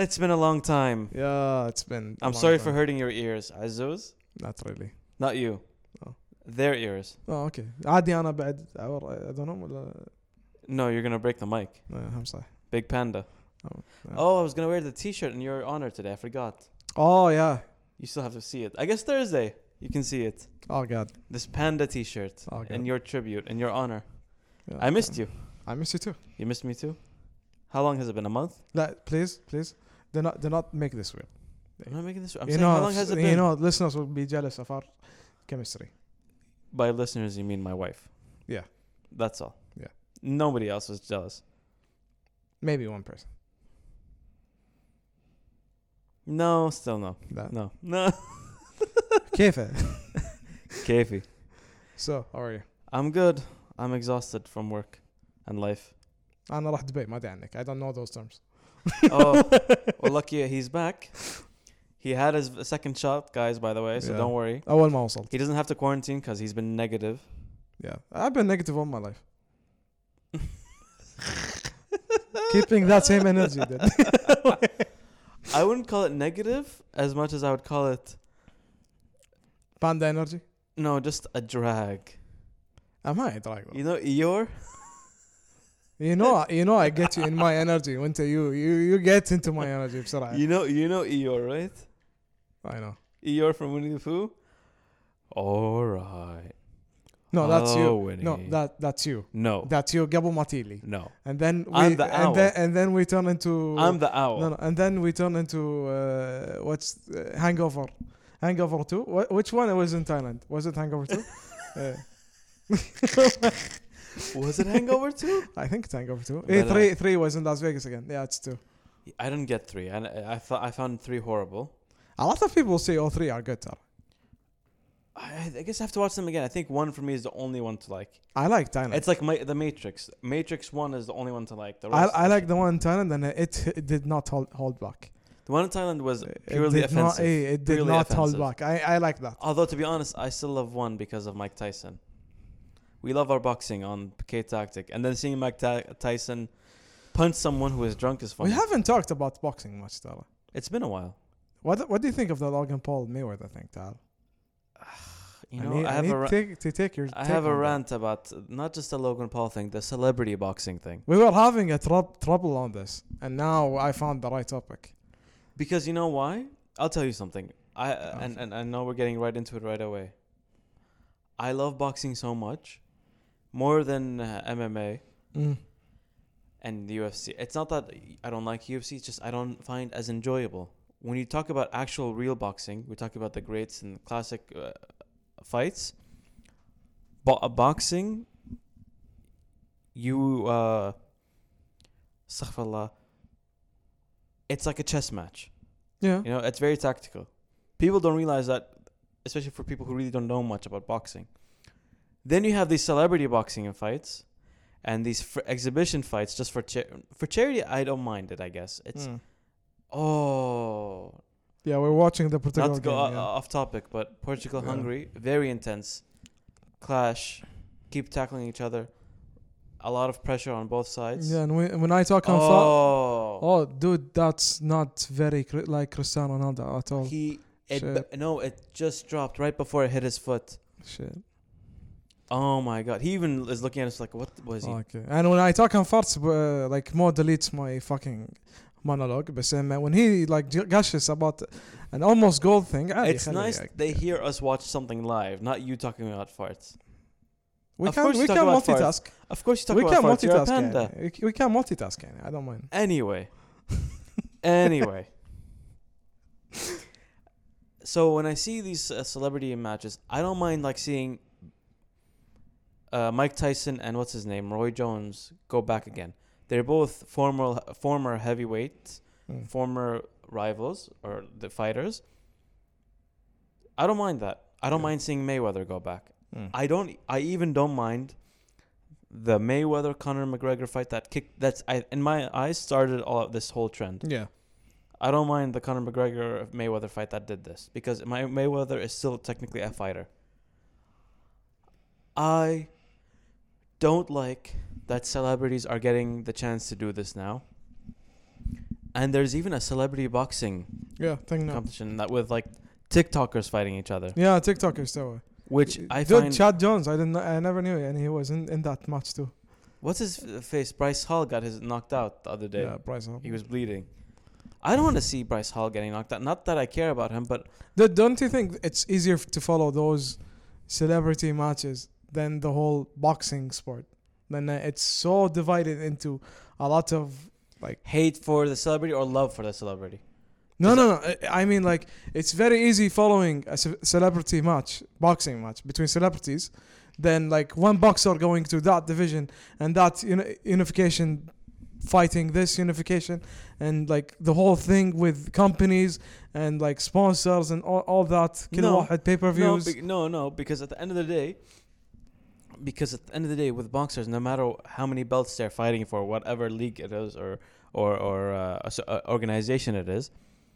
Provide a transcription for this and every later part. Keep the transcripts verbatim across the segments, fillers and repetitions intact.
It's been a long time. Yeah, it's been. a I'm long sorry time. for hurting your ears, Azuz. Not really. Not you. Oh. Their ears. Oh, okay. عادي أنا بعد. I don't know. ولا- No, you're gonna break the mic. لا، هم صح. Big Panda. Oh, yeah. Oh, I was gonna wear the T-shirt in your honor today. I forgot. Oh yeah. You still have to see it. I guess Thursday you can see it. Oh God. This Panda T-shirt Oh, God. in your tribute, in your honor. Yeah. I missed you. I miss you too. You missed me too. How long has it been? A month? لا, please, please. Do not, do not make this weird. I'm not making this. I'm you saying, know, how long has it been? You know, listeners will be jealous of our chemistry. By listeners, you mean my wife. Yeah. That's all. Yeah. Nobody else was jealous. Maybe one person. No, still no. لا. No. No. كيف؟ Kayfi. So, how are you? I'm good. I'm exhausted from work and life. أنا راح دبي ما أدري عنك. I don't know those terms. Oh, well, lucky he's back. He had his second shot, guys, by the way, so Yeah. don't worry. أول ما وصلت. He doesn't have to quarantine because he's been negative. Yeah. I've been negative all my life. Keeping that same energy then. I wouldn't call it negative as much as I would call it, Panda energy. no, just a drag. I'm high drag. You know, Eeyore? You know, you know, I get you in my energy. When you, you, you get into my energy بسرعة. You know, you know Eeyore, right? I know. Eeyore from Winnie the Pooh? All right. No, that's Oh, you. Winnie. No, that that's you. No. That's you. قبل ما تيلي. No. And then we, I'm the owl. and then and then we turn into. I'm the owl. No, no, and then we turn into uh, what's uh, Hangover, Hangover two. Wh- which one was in Thailand? Was it Hangover two? uh, Was it Hangover two? I think it's Hangover two. But, Eh, uh, three, three was in Las Vegas again. Yeah, it's two. I didn't get three. I, I, thought I found three horrible. A lot of people say all three are good. Tara. I, I guess I have to watch them again. I think one for me is the only one to like. I like Thailand. It's like my, the Matrix. Matrix one is the only one to like. The I rest I like the one in Thailand, and it, it did not hold, hold back. the one in Thailand was It purely did not. offensive. eh, It did Purely not hold offensive. back. I I like that. Although to be honest, I still love one because of Mike Tyson. We love our boxing on K Tactic, and then seeing Mike Ta- Tyson punch someone who is drunk is funny. We haven't talked about boxing much, Tara. It's been a while. What What do you think of the Logan Paul Mayweather thing, Tara? You I know, need, I I have need a ra- take, to take your. I take have a on that. rant about not just the Logan Paul thing, the celebrity boxing thing. We were having a trou- trouble on this, and now I found the right topic. Because you know why? I'll tell you something. I Oh. and, and I know we're getting right into it right away. I love boxing so much, more than uh, M M A Mm. and the U F C. It's not that I don't like U F C. It's just I don't find as enjoyable. When you talk about actual real boxing, we talk about the greats and classic uh, fights. Bo- boxing, you uh, astaghfirullah, it's like a chess match. Yeah. You know, it's very tactical. People don't realize that, especially for people who really don't know much about boxing. Then you have these celebrity boxing fights, and these fr- exhibition fights just for cha- for charity. I don't mind it. I guess it's Mm. oh, Yeah, we're watching the Portugal not to go game. o- yeah. off topic, but Portugal Yeah. Hungary, very intense clash, keep tackling each other, a lot of pressure on both sides. Yeah, and we, when I talk on fa- Oh, oh, dude, that's not very cri- like Cristiano Ronaldo at all. he it Shit. no, it just dropped right before it hit his foot. Shit. Oh my god, he even is looking at us like, what was he? Okay. And when I talk on farts, uh, like Mo deletes my fucking monologue. But um, when he like j- gushes about an almost goal thing, عادي It's خليه nice يعني. they hear us watch something live, not you talking about farts. We Of can course you we talk can about multitask. Of course you talk We about can farts, you're a multitask. panda. يعني. We- We can multitask. يعني. I don't mind. Anyway. Anyway. So when I see these uh, celebrity matches, I don't mind like seeing uh, Mike Tyson and what's his name, Roy Jones, go back again. They're both former former heavyweights, Mm. former rivals or the fighters. I don't mind that. I don't Yeah. mind seeing Mayweather go back. Mm. I don't. I even don't mind the Mayweather Conor McGregor fight that kicked. That's I in my eyes started all of this whole trend. Yeah. I don't mind the Conor McGregor Mayweather fight that did this because my Mayweather is still technically a fighter. I don't like that celebrities are getting the chance to do this now. And there's even a celebrity boxing Yeah, thing now. competition that with like TikTokers fighting each other, Yeah, TikTokers too. which I Dude, find. Chad Jones, I didn't, I never knew, and he was in, in that match too. What's his f- face? Bryce Hall got his knocked out the other day. Yeah, Bryce Hall. He was bleeding. I don't want to see Bryce Hall getting knocked out. Not that I care about him, but Dude, don't you think it's easier to follow those celebrity matches than the whole boxing sport? Then uh, it's so divided into a lot of like. hate for the celebrity or love for the celebrity. No, no, no. I- I mean, like, it's very easy following a ce- celebrity match, boxing match between celebrities, than like one boxer going to that division and that uni- unification, fighting this unification, and like the whole thing with companies and like sponsors and all, all that. كل No. واحد pay per No, views. be- no, no, because at the end of the day, because at the end of the day, with boxers, no matter how many belts they're fighting for, whatever league it is or or or uh, a s- uh, organization it is,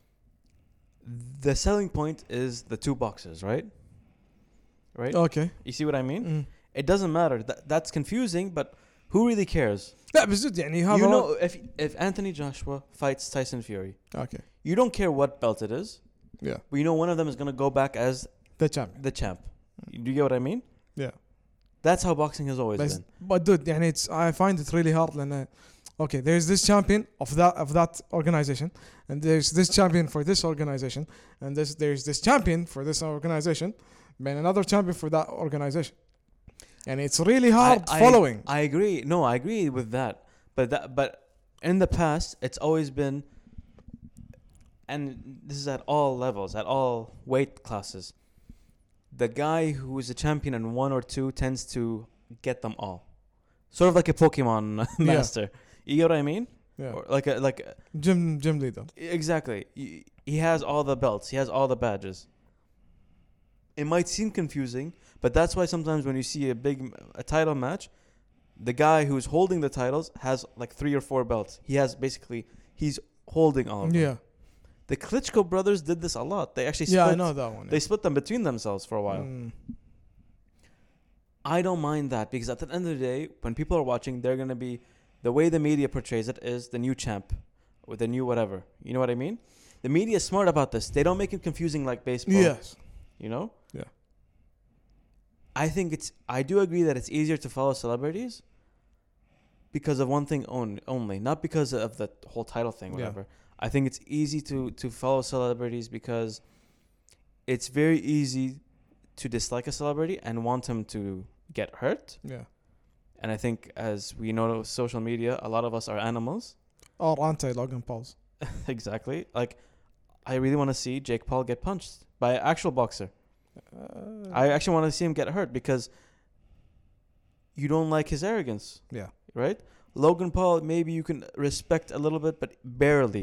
the selling point is the two boxers, right? Right. Okay. You see what I mean? Mm. It doesn't matter. That that's confusing, but who really cares? لا بس جد يعني هذا You know, if if Anthony Joshua fights Tyson Fury, okay. you don't care what belt it is, Yeah. but you know one of them is gonna go back as The champion. the champ. Do you get what I mean? Yeah. That's how boxing has always But, been. but dude, يعني it's I find it really hard لأن okay, there's this champion of that of that organization, and there's this champion for this organization, and this there's this champion for this organization, and another champion for that organization, and it's really hard I- I- following. I agree. No, I agree with that. But that, but in the past, it's always been, and this is at all levels, at all weight classes. The guy who is a champion in one or two tends to get them all, sort of like a Pokemon master. You get what I mean? Yeah, Or like a like a- gym gym leader. exactly. He- He has all the belts. He has all the badges. It might seem confusing, but that's why sometimes when you see a big a title match, the guy who's holding the titles has like three or four belts. He has basically he's holding all of them. Yeah, The Klitschko brothers did this a lot. They actually split, yeah, I know that one. they split them between themselves for a while. Mm. I don't mind that because at the end of the day, when people are watching, they're gonna be the way the media portrays it is the new champ or the new whatever. You know what I mean? The media is smart about this. They don't make it confusing like baseball. Yes. You know? Yeah. I think it's I do agree that it's easier to follow celebrities because of one thing on, only, not because of the whole title thing, Yeah. whatever. I think it's easy to to follow celebrities because it's very easy to dislike a celebrity and want him to get hurt. Yeah. And I think as we know social media, a lot of us are animals. Or anti Logan Pauls. Exactly. Like I really want to see Jake Paul get punched by an actual boxer. Uh, I actually want to see him get hurt because you don't like his arrogance, yeah. right? Logan Paul, maybe you can respect a little bit, but barely.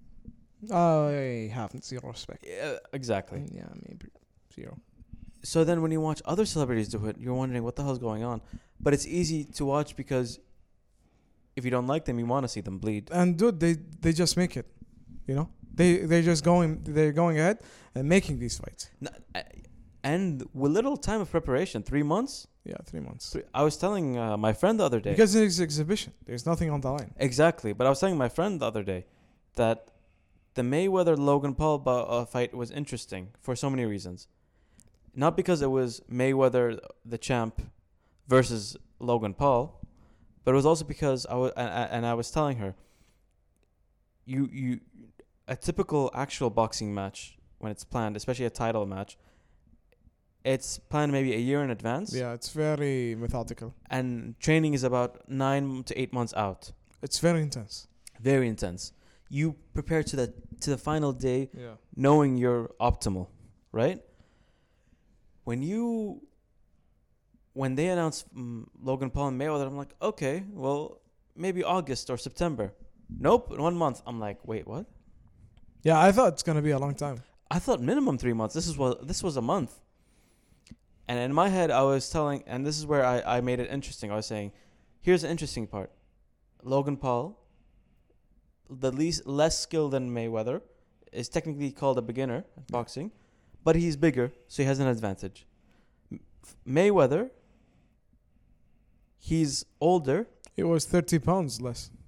I haven't zero respect. Yeah, exactly. Yeah, maybe zero. So then when you watch other celebrities do it, you're wondering what the hell's going on. But it's easy to watch because if you don't like them, you want to see them bleed. And dude, they they just make it, you know. They they're just going they're going ahead and making these fights. N- uh, And with little time of preparation, three months. Yeah, three months. Three, I was telling uh, my friend the other day. Because it's exhibition. There's nothing on the line. Exactly. But I was telling my friend the other day that the Mayweather Logan Paul bo- uh, fight was interesting for so many reasons. Not because it was Mayweather the champ versus Logan Paul, but it was also because I was and, and I was telling her you you a typical actual boxing match when it's planned, especially a title match, it's planned maybe a year in advance. Yeah, it's very methodical. And training is about nine to eight months out. It's very intense. Very intense. You prepare to the to the final day Yeah. knowing you're optimal, right? When you when they announced um, Logan Paul and Mayweather, I'm like, okay, well, maybe August or September. Nope, one month. I'm like, wait, what? Yeah, I thought it's gonna be a long time. I thought minimum three months. This is what this was a month. And in my head, I was telling, and this is where I, I made it interesting. I was saying, here's the interesting part. Logan Paul, the least less skilled than Mayweather, is technically called a beginner at boxing, but he's bigger, so he has an advantage. M- Mayweather, he's older. It was thirty pounds less.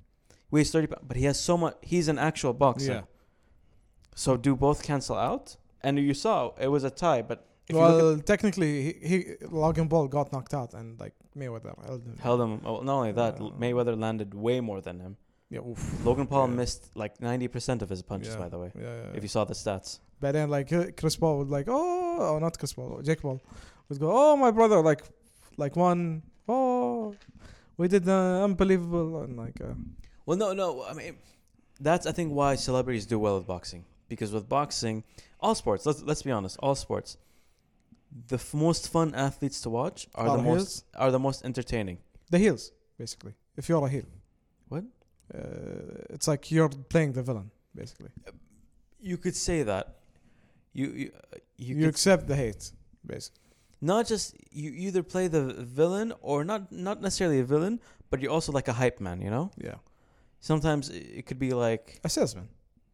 weighs thirty pounds, but he has so much. He's an actual boxer. Yeah. So do both cancel out? And you saw it was a tie, but if you Well, look technically, he, he Logan Paul got knocked out, and like Mayweather held him. at, held him. Oh, not only that, Uh, Mayweather landed way more than him. Yeah. Oof. Logan Paul Yeah. missed like ninety percent of his punches, Yeah. by the way. Yeah, yeah, If you saw the stats. But then, like uh, Chris Paul would like, oh, oh, not Chris Paul, Jake Paul would go, oh, my brother, like, like one, oh, we did uh, unbelievable, and like, uh, Well, no, no. I mean, that's I think why celebrities do well with boxing, because with boxing, all sports. Let's let's be honest, all sports. The f- most fun athletes to watch are Are the heels? most are the most entertaining. the heels, basically. If you're a heel, What? uh, it's like you're playing the villain, basically. You could say that. You you uh, you, You, could accept the hate, basically. not just you either play the villain or not not necessarily a villain, but you're also like a hype man. You know. Yeah, Sometimes it it could be like a salesman.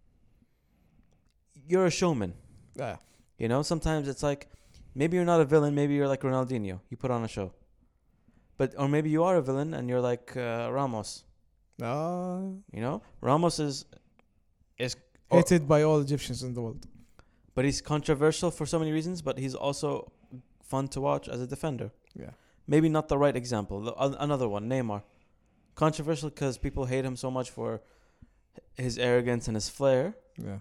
you're a showman. Yeah, You know. Sometimes it's like maybe you're not a villain. Maybe you're like Ronaldinho. You put on a show. But or maybe you are a villain and you're like uh, Ramos. uh, You know, Ramos is is or- hated by all Egyptians in the world. but he's controversial for so many reasons. But he's also fun to watch as a defender. Yeah, Maybe not the right example. The- an- Another one, Neymar, controversial because people hate him so much for his arrogance and his flair. yeah,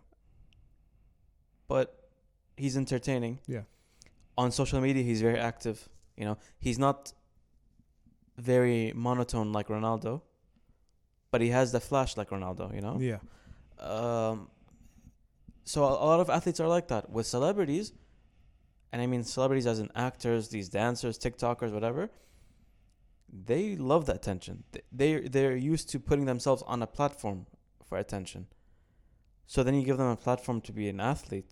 But he's entertaining. yeah, On social media, he's very active. You know, he's not very monotone like Ronaldo, but he has the flash like Ronaldo. You know. yeah. Um, so a a lot of athletes are like that. With celebrities, and I mean celebrities as in actors, these dancers, TikTokers, whatever, they love the attention. Th- They they're used to putting themselves on a platform for attention. So then you give them a platform to be an athlete.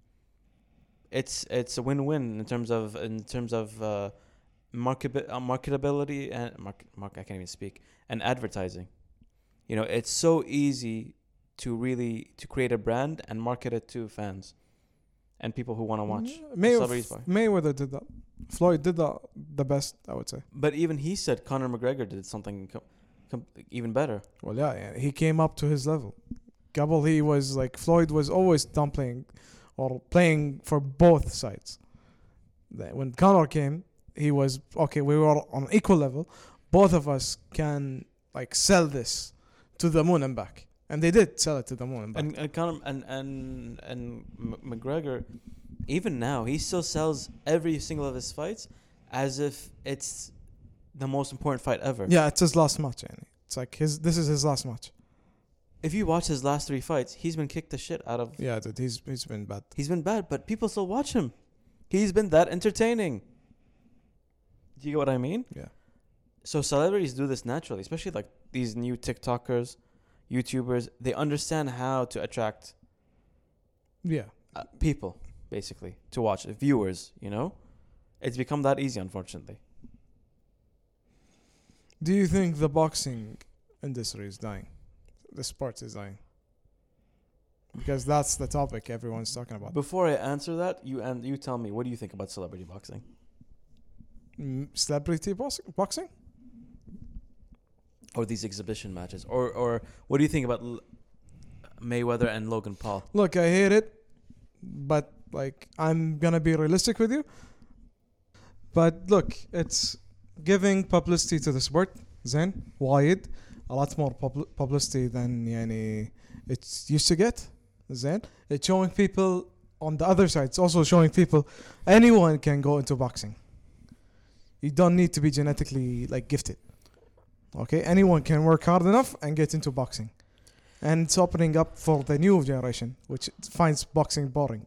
It's it's a win-win in terms of in terms of uh, market uh, marketability and market, mark I can't even speak and advertising. You know, it's so easy to really to create a brand and market it to fans and people who want to watch. May- celebrities F- fight. Mayweather did that. Floyd did that the best, I would say. But even he said Conor McGregor did something com- com- even better. Well, yeah, yeah, he came up to his level. Gabble, he was like Floyd was always downplaying or playing for both sides. That when Conor came, he was okay. We were on equal level. Both of us can like sell this to the moon and back, and they did sell it to the moon and back. And, and Conor and and and M- McGregor, even now, he still sells every single of his fights as if it's the most important fight ever. Yeah, it's his last match. Yani. It's like his. This is his last match. If you watch his last three fights, he's been kicked the shit out of. Yeah, dude, he's he's been bad. He's been bad, but people still watch him. He's been that entertaining. Do you get what I mean? Yeah. So celebrities do this naturally, especially like these new TikTokers, YouTubers. They understand how to attract Yeah. uh, people, basically, to watch, uh, viewers, you know? It's become that easy, unfortunately. Do you think the boxing industry is dying? The sport is dying? Because that's the topic everyone's talking about. Before I answer that, you and you tell me, what do you think about celebrity boxing? Mm, celebrity box- boxing? Or these exhibition matches? Or or what do you think about L- Mayweather and Logan Paul? Look, I hate it, but like I'm gonna be realistic with you. But look, it's giving publicity to the sport. Zen, wide, a lot more pub- publicity than yani it's used to get. Zen, it's showing people on the other side. It's also showing people anyone can go into boxing. You don't need to be genetically like gifted. Okay, anyone can work hard enough and get into boxing. And it's opening up for the new generation, which finds boxing boring.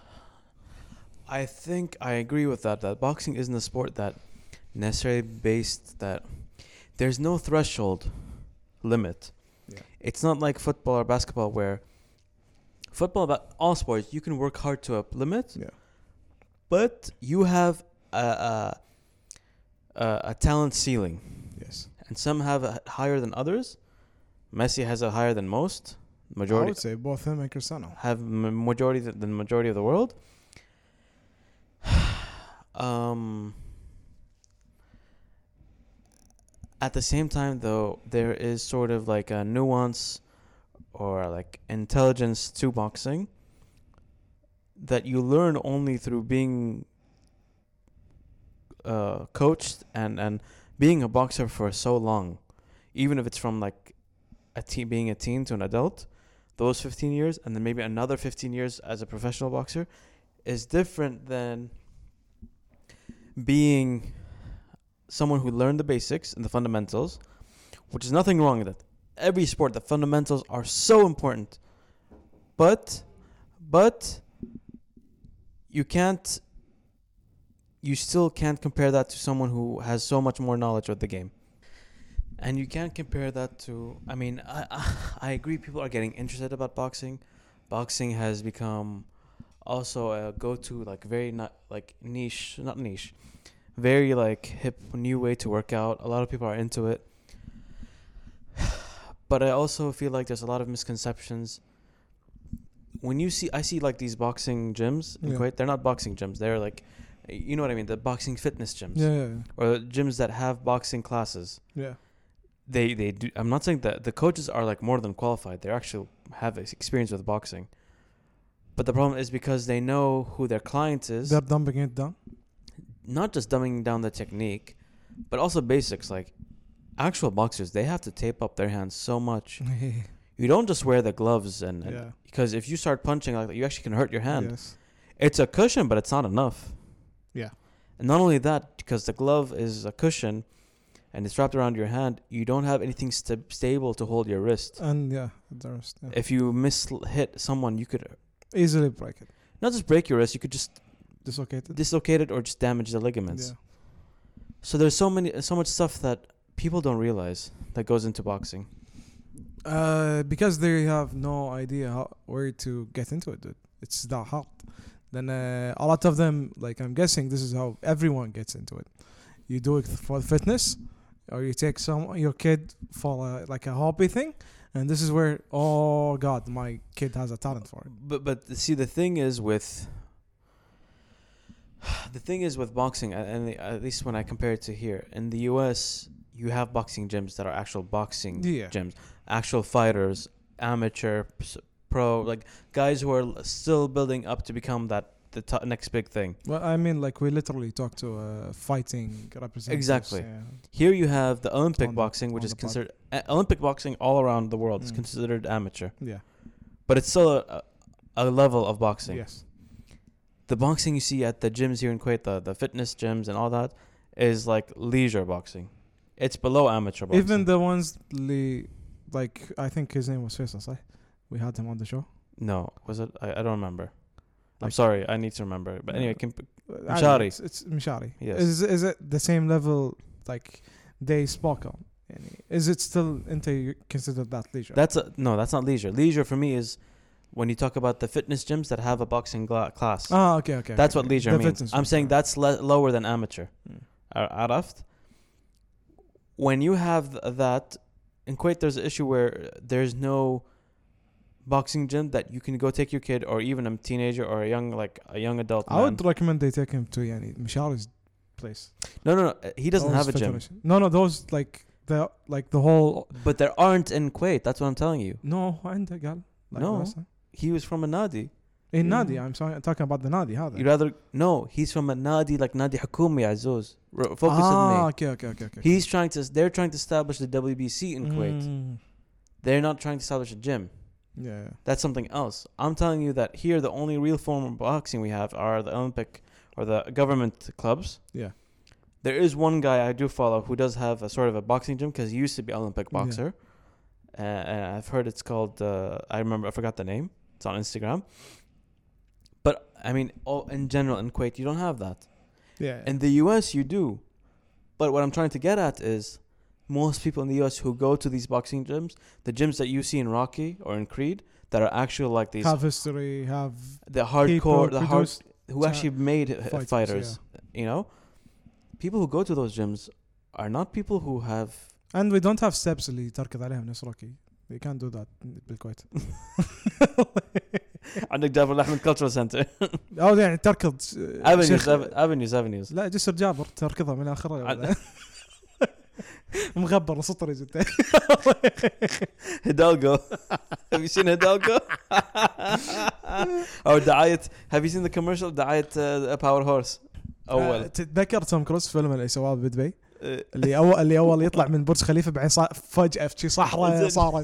I think I agree with that. That boxing isn't a sport that necessarily based that there's no threshold limit. Yeah. It's not like football or basketball where football, about all sports, you can work hard to a limit. Yeah. But you have a a, a, a talent ceiling, Yes. and some have a higher than others. Messi has a higher than most. I Majority would say both him and Cristiano. have m- majority th- the majority of the world. um, at the same time, though, there is sort of like a nuance or like intelligence to boxing that you learn only through being uh, coached and, and being a boxer for so long. Even if it's from like a teen, being a teen to an adult, those fifteen years and then maybe another fifteen years as a professional boxer is different than being someone who learned the basics and the fundamentals, which is nothing wrong with it. Every sport, the fundamentals are so important. But, but you can't, you still can't compare that to someone who has so much more knowledge of the game. And you can't compare that to, I mean, I, I, I agree people are getting interested about boxing. Boxing has become also a go-to, like very not, like niche, not niche, very like hip new way to work out. A lot of people are into it. But I also feel like there's a lot of misconceptions. When you see, I see like these boxing gyms in Yeah. Kuwait, they're not boxing gyms. They're like, you know what I mean? The boxing fitness gyms. Yeah, yeah, yeah. Or gyms that have boxing classes. Yeah. They they do. I'm not saying that the coaches are like more than qualified. They actually have experience with boxing. But the problem is because they know who their client is. They're dumping it down. Not just dumbing down the technique, but also basics. Like actual boxers, they have to tape up their hands so much. You don't just wear the gloves and, and Yeah. because if you start punching like that, you actually can hurt your hand. Yes. It's a cushion, but it's not enough. Yeah. And not only that, because the glove is a cushion and it's wrapped around your hand, you don't have anything st- stable to hold your wrist. And yeah, the rest. Yeah. If you miss hit someone, you could Easily break it. not just break your wrist, you could just Dislocated. dislocate it or just damage the ligaments. Yeah. So there's so many, so much stuff that people don't realize that goes into boxing. Uh, because they have no idea how where to get into it, dude. It's that hard. Then uh, a lot of them, like I'm guessing, this is how everyone gets into it. You do it for fitness, or you take some your kid for a, like a hobby thing, and this is where, oh God, my kid has a talent for it. But but see, the thing is with the thing is with boxing, and and the- at least when I compare it to here in the U S, you have boxing gyms that are actual boxing Yeah. gyms, actual fighters, amateur, s- pro, like guys who are l- still building up to become that the t- next big thing. Well, I mean, like we literally talk to uh, fighting representatives. Exactly. Yeah. Here you have the Olympic On the- boxing, which on is the pod. considered uh, Olympic boxing all around the world is Mm. considered amateur, Yeah. but it's still a, a a level of boxing. Yes. The boxing you see at the gyms here in Kuwait, the, the fitness gyms and all that, is like leisure boxing. It's below amateur boxing. Even the ones, li- like I think his name was Faisal, right? We had him on the show. no, was it? I, I don't remember. I'm Like- sorry, I need to remember. But anyway, Uh, can, Uh, Mishari. It's, it's Mishari. Yes. Is is it the same level like they spoke on? Yani, is it still into you consider that leisure? that's a, no, that's not leisure. Leisure for me is when you talk about the fitness gyms that have a boxing gla- class. ah, okay, okay. That's okay, what okay. leisure The means. fitness I'm one, saying right. that's le- lower than amateur. Mm. Ar- عرفت? When you have th- that, in Kuwait there's an issue where there's no boxing gym that you can go take your kid or even a teenager or a young like a young adult I man. would recommend they take him to yani Mishari's place. No, no, no. He doesn't Those have a gym. federation. No, no, those like the like the whole. But there aren't in Kuwait. That's what I'm telling you. No, عنده قال. Like No. Rasa. He was from a nadi. In Yeah. Nadi, I'm sorry, talking about the Nadi. هذا. You rather no. He's from a nadi like nadi Hakumi Azuz. R- Focus ah, on me. okay, okay, okay, okay. He's trying to. They're trying to establish the W B C in Kuwait. Mm. They're not trying to establish a gym. Yeah, yeah. That's something else. I'm telling you that here the only real form of boxing we have are the Olympic or the government clubs. Yeah. There is one guy I do follow who does have a sort of a boxing gym because he used to be an Olympic Yeah. boxer. Uh, and I've heard it's called. Uh, I remember. I forgot the name. It's on Instagram. But I mean, all in general in Kuwait, you don't have that. Yeah. In the U S, you do. But what I'm trying to get at is most people in the U S who go to these boxing gyms, the gyms that you see in Rocky or in Creed, that are actually like these, have history, have the hardcore, people the hard, produced who cha- actually made uh, fighters, fighters. You know, people who go to those gyms are not people who have. and we don't have steps اللي تركض عليهم نفس روكي. We can't do that بالكويت. عندك جابر الأحمد Cultural Center. أو يعني تركض avenues, شيخ- avenues, avenues. لا جسر جابر تركضها من آخرها. عن- مغبر سطر جدا. Hidalgo. Have you seen Hidalgo? Or دعاية. Have you seen the commercial دعاية uh, Power Horse? أول. تتذكر توم كروز فيلم اللي سواه بدبي Uh, اللي اول اللي اول يطلع من برج خليفة بعدين صا- فجأة في شي صحراء صارت.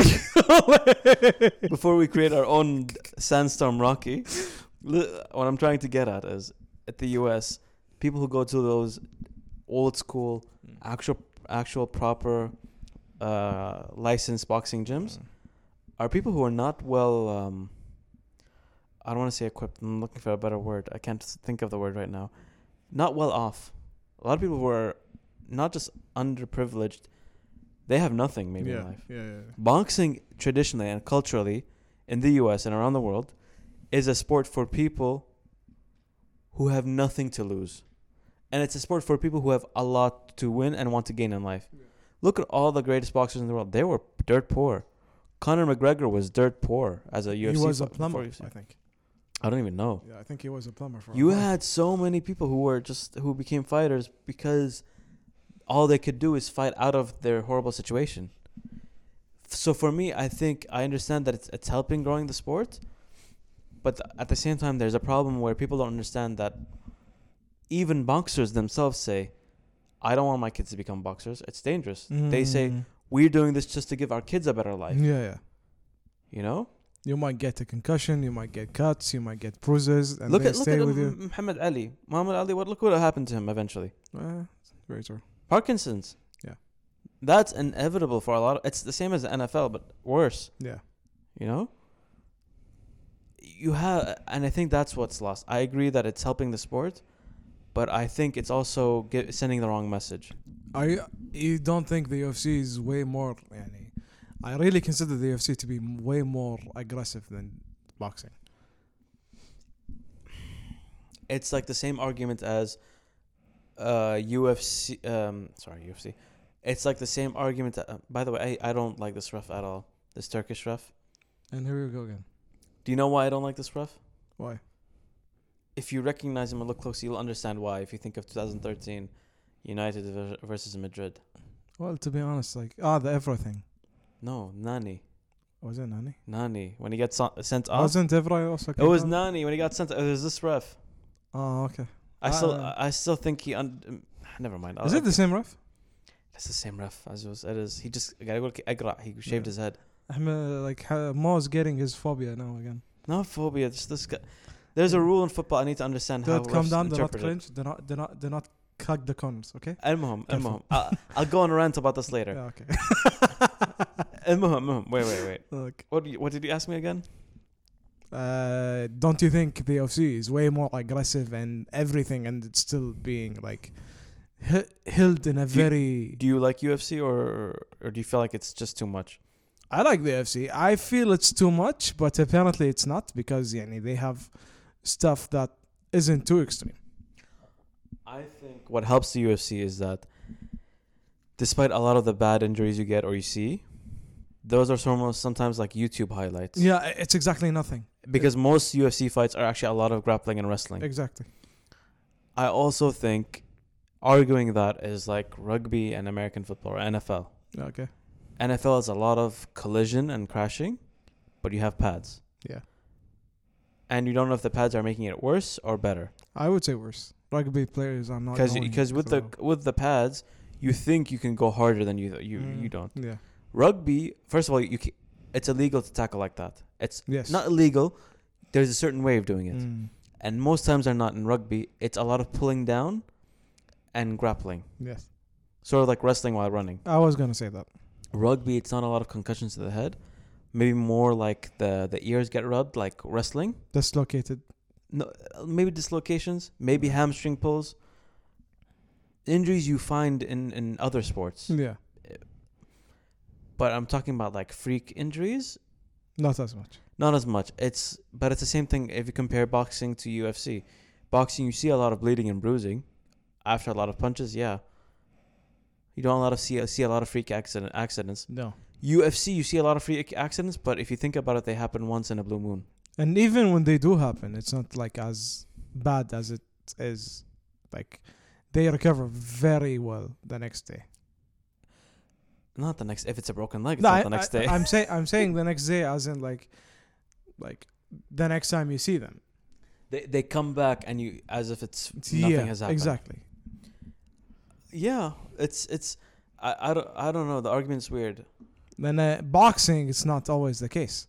before we create our own sandstorm Rocky, li- what I'm trying to get at is at the U S, people who go to those old school, actual, actual proper, uh, licensed boxing gyms are people who are not well. Um, I don't want to say equipped. I'm looking for a better word. I can't think of the word right now. Not well off. A lot of people who are not just underprivileged, they have nothing maybe in life. Yeah, yeah, yeah. Boxing traditionally and culturally in the U S and around the world is a sport for people who have nothing to lose. And it's a sport for people who have a lot to win and want to gain in life. Yeah. Look at all the greatest boxers in the world. They were dirt poor. Conor McGregor was dirt poor as a U F C. He was a fo- plumber, before U F C. I think. I don't even know. Yeah, I think he was a plumber for a You while. had so many people who were just who became fighters because all they could do is fight out of their horrible situation. So for me, I think I understand that it's it's helping growing the sport, but th- at the same time, there's a problem where people don't understand that even boxers themselves say, "I don't want my kids to become boxers. It's dangerous." They say, Mm. "We're doing this just to give our kids a better life." Yeah, yeah. You know, You might get a concussion, you might get cuts, you might get bruises, and look they at look stay at with you. M- Muhammad Ali. Muhammad Ali. What look what happened to him eventually? Uh, very true. Parkinson's. Yeah. That's inevitable for a lot of, it's the same as the N F L but worse, Yeah. you know? You have, and I think that's what's lost. I agree that it's helping the sport, but I think it's also get, sending the wrong message. I you don't think the U F C is way more يعني, I really consider the U F C to be way more aggressive than boxing. It's like the same argument as uh U F C um sorry U F C. It's like the same argument that, uh, by the way, I, I don't like this ref at all. This Turkish ref. And here we go again. Do you know why I don't like this ref? Why? If you recognize him and look closely, you'll understand why. If you think of twenty thirteen United ver- versus Madrid. Well, to be honest, like ah, the everything. No, Nani. Was it Nani? Nani. When he got so- sent off. Wasn't Evra also? It was Nani when he got sent. It was this ref. Oh, okay. I still, Uh, I still think he. Un- um, never mind. Is it the same ref? It's the same ref as it was. It is. He just got to go to Agra. He shaved Yeah. his head. I'm uh, like uh, Mo's getting his phobia now again. No phobia. Just this guy. There's a rule in football. I need to understand how. Don't come refs down. Do not interpret it. cringe. Do not. Do not. Do not hug the corners. Okay. المهم Careful. المهم I'll, I'll go on a rant about this later. Yeah, okay. المهم المهم wait wait wait. Okay. What do you, what did you ask me again? Uh, don't you think the U F C is way more aggressive and everything, and it's still being like h- held in a Do you- very? Do you like U F C or or do you feel like it's just too much? I like the U F C. I feel it's too much, but apparently it's not because yani, they have stuff that isn't too extreme. I think what helps the U F C is that despite a lot of the bad injuries you get or you see, those are almost sometimes like YouTube highlights. Yeah, it's exactly nothing. Because most U F C fights are actually a lot of grappling and wrestling. Exactly. I also think arguing that is like rugby and American football or N F L. Okay. N F L is a lot of collision and crashing, but you have pads. Yeah. And you don't know if the pads are making it worse or better. I would say worse. Rugby players are not Because going because with so the well. with the pads, you think you can go harder than you you Mm, you don't. Yeah. Rugby, first of all, you ca- it's illegal to tackle like that. It's Yes. not illegal. There's a certain way of doing it, Mm, and most times are not in rugby. It's a lot of pulling down and grappling, yes. sort of like wrestling while running. I was gonna say that. Rugby, it's not a lot of concussions to the head. Maybe more like the the ears get rubbed, like wrestling. Dislocated. No, maybe dislocations, maybe hamstring pulls. Injuries you find in in other sports, Yeah. but I'm talking about like freak injuries. Not as much. Not as much. It's but it's the same thing if you compare boxing to U F C. Boxing, you see a lot of bleeding and bruising after a lot of punches. Yeah, you don't a lot of see see a lot of freak accident accidents. No. U F C, you see a lot of freak accidents, but if you think about it, they happen once in a blue moon. And even when they do happen, it's not like as bad as it is. Like they recover very well the next day. Not the next. If it's a broken leg, it's No, not I, the next I, day. I'm saying I'm saying the next day, as in like, like the next time you see them. they they come back and you as if it's Yeah, nothing has happened. exactly. Yeah, it's it's. I, I don't I don't know. The argument's weird. Then uh, boxing, it's not always the case.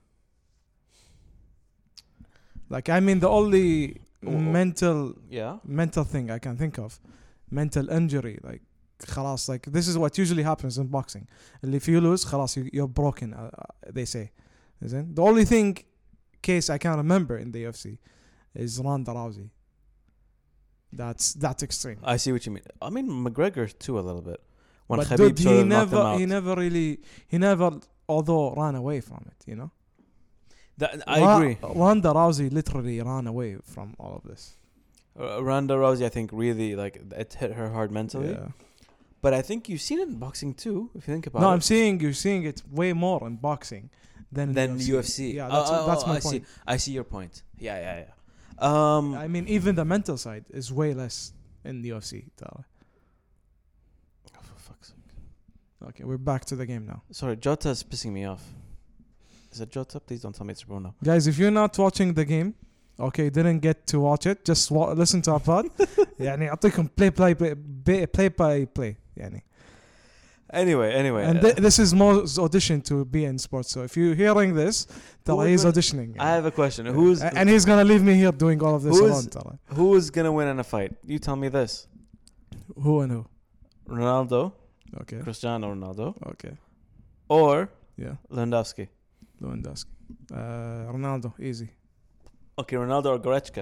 Like I mean, the only Oh, oh. mental Yeah. mental thing I can think of, mental injury. Like, خلاص, like this is what usually happens in boxing. And if you lose, خلاص, you, you're broken. Uh, uh, they say, isn't the only thing case I can remember in the U F C is Ronda Rousey. That's that's extreme. I see what you mean. I mean McGregor too a little bit. When But Khabib dude, sort he of knocked him never, out. he never really, he never, although ran away from it. You know. That, I Ra- agree. Ronda Rousey literally ran away from all of this. Uh, Ronda Rousey, I think, really like it hit her hard mentally. Yeah. But I think you've seen it in boxing too, if you think about No, it. I'm seeing you're seeing it way more in boxing than in Then the U F C. Yeah, Oh, that's, oh, that's oh, my I point. See. I see your point. Yeah, yeah, yeah. Um, I mean, even the mental side is way less in the U F C. Tara. oh, for fuck's sake. Okay, we're back to the game now. Sorry, Jota's pissing me off. Is it Jota? Please don't tell me it's Bruno. Guys, if you're not watching the game, okay, didn't get to watch it, just wa- listen to our pod. يعني أعطيكم play play play play play by play يعني. Anyway, anyway. And uh, th- this is Mo's audition to be in sports. So if you're hearing this, Tara, he's gonna- auditioning. I have a question. Who's A- and he's gonna leave me here doing all of this Who is- alone. Tara. who is gonna win in a fight? You tell me this. Who and who? Ronaldo, Okay, Cristiano Ronaldo, okay, or yeah, Lewandowski. Lewandowski, uh, Ronaldo, easy. Okay, Ronaldo or Goretzka.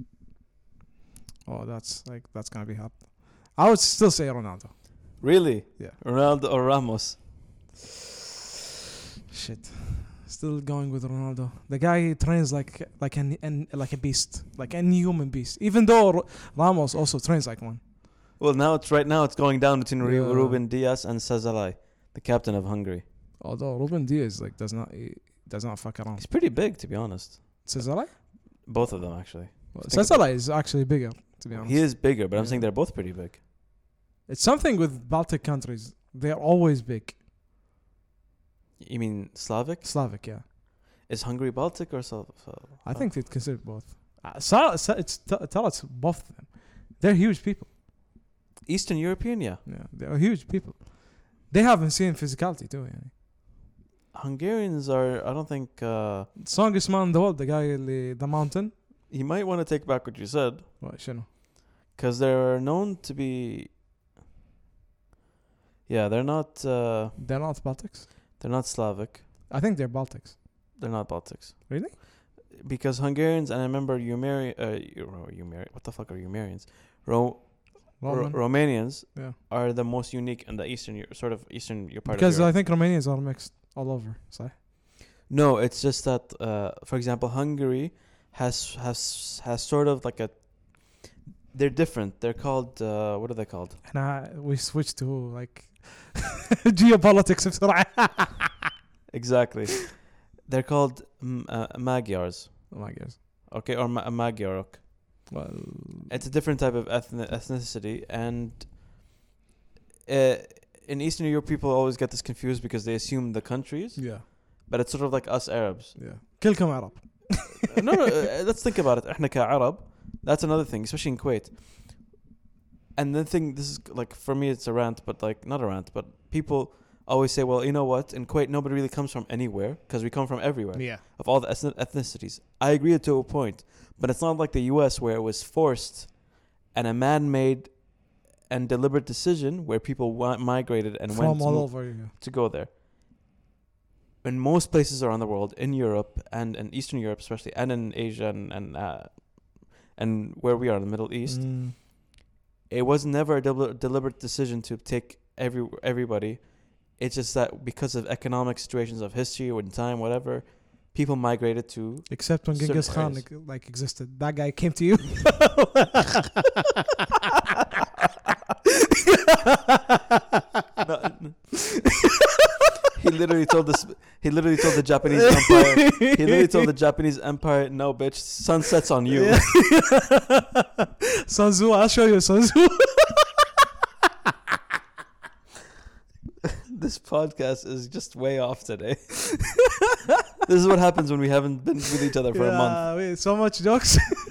Oh, that's like that's gonna be hot. I would still say Ronaldo. Really? Yeah. Ronaldo or Ramos? Shit. Still going with Ronaldo. The guy trains like like an, an like a beast, like any human beast. Even though R- Ramos also trains like one. Well, now it's right now it's going down between Ru- Yeah. Ruben Diaz and Sazalai, the captain of Hungary. Although Ruben Diaz like does not he does not fuck around. He's pretty big, to be honest. Cesare? Both of them, actually. Well, Think Cesare is actually bigger, to be honest. He is bigger, but I'm Yeah. saying they're both pretty big. It's something with Baltic countries. They're always big. You mean Slavic? Slavic, yeah. Is Hungary Baltic or Slav? I think they'd consider both. Uh, Sa- Sa- it's t- tell us both of them. They're huge people. Eastern European, yeah. Yeah, they're huge people. They haven't seen physicality too. Yeah. Hungarians are, I don't think, uh, Strongest man in the world, the guy in the mountain. you might want to take back what you said, What, شنو? because they're known to be, yeah, they're not, uh, They're not Baltics. they're not Slavic. I think they're Baltics. They're not Baltics. Really? Because Hungarians, and I remember Umeri, uh, Euro- Umeri, what the fuck are Umerians? Ro- Ro- Roman. Romanians yeah. are the most unique in the Eastern, Eu- sort of Eastern Eu- part Because of I Europe. think Romanians are mixed all over. So No, it's just that, uh, for example, Hungary has has has sort of like a. They're different. They're called uh, what are they called? and I, we switched to like geopolitics بسرعة. Exactly. They're called m- uh, Magyars. Oh my gosh. Okay, or Ma- Magyarok. Well, It's a different type of ethni- ethnicity, and uh, in Eastern Europe, people always get this confused because they assume the countries, yeah, but it's sort of like us Arabs. yeah. كلكم عرب. no, no. Uh, let's think about it. إحنا كعرب. That's another thing, especially in Kuwait. And the thing, this is like for me, it's a rant, but like not a rant, but people always say, well, you know what? In Kuwait, nobody really comes from anywhere because we come from everywhere. Yeah. Of all the ethni- ethnicities. I agree to a point, but it's not like the U S where it was forced and a man-made and deliberate decision where people wa- migrated and From went to, all mo- over. Yeah. to go there. In most places around the world, in Europe and in Eastern Europe especially, and in Asia and and, uh, and where we are in the Middle East, Mm. it was never a deli- deliberate decision to take every everybody. It's just that because of economic situations of history or in time, whatever, people migrated to. Except when certain Genghis Khan areas. like, like existed, that guy came to you. No, no. he literally told this. He literally told the Japanese empire. He literally told the Japanese empire, "No, bitch, sun sets on you." Sun Tzu, I'll show you Sun Tzu. This podcast is just way off today. This is what happens when we haven't been with each other for yeah, a month. Wait, so much jokes.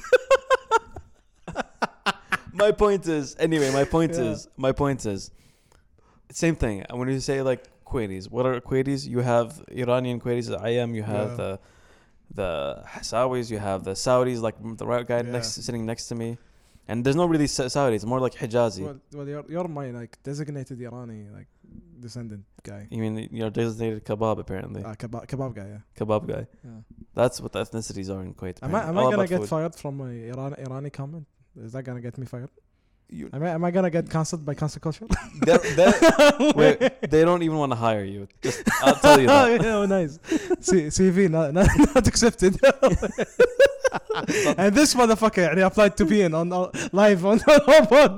My point is, anyway, my point Yeah. is, my point is, same thing. When you say like Kuwaitis, what are Kuwaitis? You have Iranian Kuwaitis, the I M, you have Yeah. the the Hassawis, you have the Saudis, like the right guy Yeah. next sitting next to me. And there's no really Sa- Saudis, more like Hijazi. well, well you're, you're my like designated Irani like descendant guy. You mean you're designated kebab apparently. Uh, kebab, kebab guy, yeah. Kebab guy. yeah. That's what the ethnicities are in Kuwait. Am I, am I All gonna about get food. fired from my Iran, Irani comment? Is that gonna get me fired? You, Am I, am I gonna get cancelled by cancel culture? they're- they're- wait, they don't even want to hire you. Just, I'll tell you that. yeah, oh, nice. C- CV not, not, not accepted. And this motherfucker يعني applied to be in on on- live on on pod.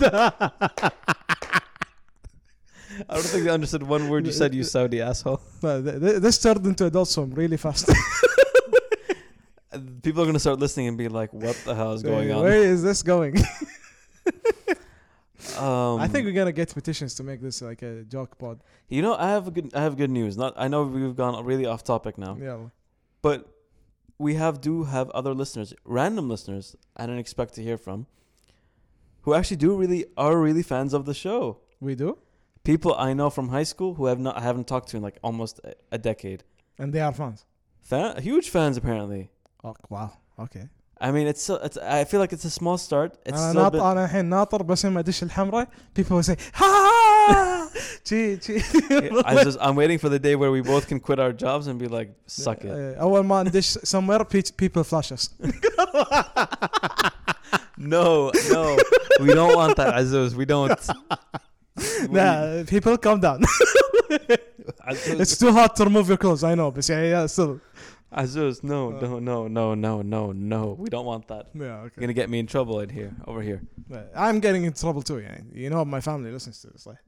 I don't think they understood one word you said, you Saudi asshole. No, th- th- this turned into adult swim really fast. People are going to start listening and be like, what the hell is going on? Where is this going? Um, I think we're gonna get petitions to make this like a joke pod. You know, I have a good I have good news. Not I know we've gone really off topic now. Yeah. But we have do have other listeners, random listeners I didn't expect to hear from, who actually do really are really fans of the show. We do? People I know from high school who have not I haven't talked to in like almost a, a decade. And they are fans. Fan, huge fans apparently. Oh wow. Okay. I mean, it's, so, it's I feel like it's a small start. It's أنا still a ناطر bit, أنا الحين ناطر بس ما أدش الحمراء. People will say ha. Gee, gee. I just I'm waiting for the day where we both can quit our jobs and be like, suck it. Uh, أول ما ندش somewhere pe- people flash us. No, no, we don't want that, Azuz. We don't. Nah, people calm down. Azuz, It's too hot to remove your clothes. I know, but yeah, yeah, still. Azuz, no, Uh. no, no, no, no, no, no. We don't want that. Yeah, You're okay. gonna get me in trouble in here, over here. But I'm getting in trouble too. Yeah, you know, my family listens to this. Like,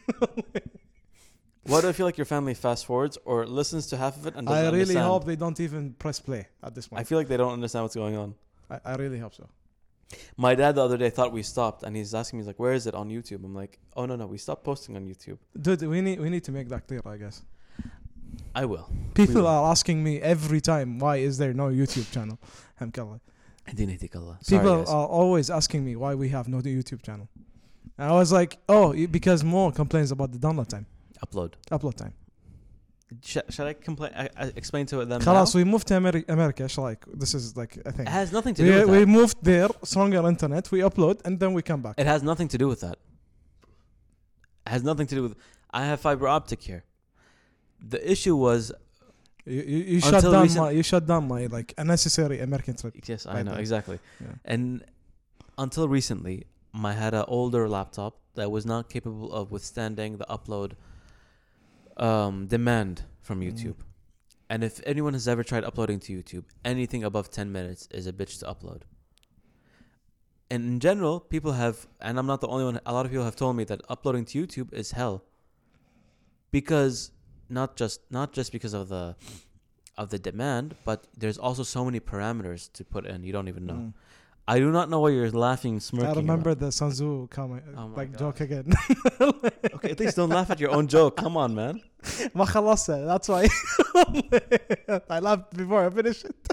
Why do I feel like your family fast forwards or listens to half of it and doesn't I really understand? hope they don't even press play at this point. I feel like they don't understand what's going on. I, I really hope so. My dad the other day thought we stopped, and he's asking me, he's like, "Where is it on YouTube?" I'm like, "Oh no, no, we stopped posting on YouTube." Dude, we need we need to make that clear. I guess I will. people will. are asking me every time, why is there no YouTube channel? Hamkallah. Sorry, People guys. are always asking me why we have no YouTube channel. And I was like, oh, y- because Mo complains about the download time, Upload. upload time. Sh- should I complain? I, I explain to them خلاص, now? we moved to Ameri- America. إيش رأيك? This is like a thing. It has nothing to do We, with we that. moved there, stronger internet. We upload and then we come back. It has nothing to do with that. It has nothing to do with. I have fiber optic here. The issue was You, you, you shut Until down recent- my you shut down my like unnecessary American trip. yes, I Right know there. exactly. Yeah. And until recently, I had an older laptop that was not capable of withstanding the upload um, demand from Mm. YouTube. And if anyone has ever tried uploading to YouTube, anything above ten minutes is a bitch to upload. And in general, people have, and I'm not the only one, a lot of people have told me that uploading to YouTube is hell. Because not just not just because of the of the demand, but there's also so many parameters to put in you don't even know. Mm. I do not know why you're laughing, smirking. I remember about. the Sanzu comment, Oh my like God. joke again. Okay, at least don't laugh at your own joke. Come on, man. ما خلصت. That's why I laughed before I finished it.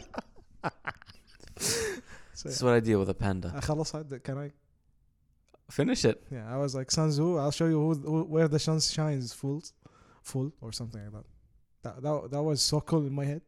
So, This is what I deal with a panda. خلص. Can I? Finish it. Yeah, I was like, Sanzu, I'll show you who, who, where the sun shines full, full or something like that. That that, that was so cool in my head.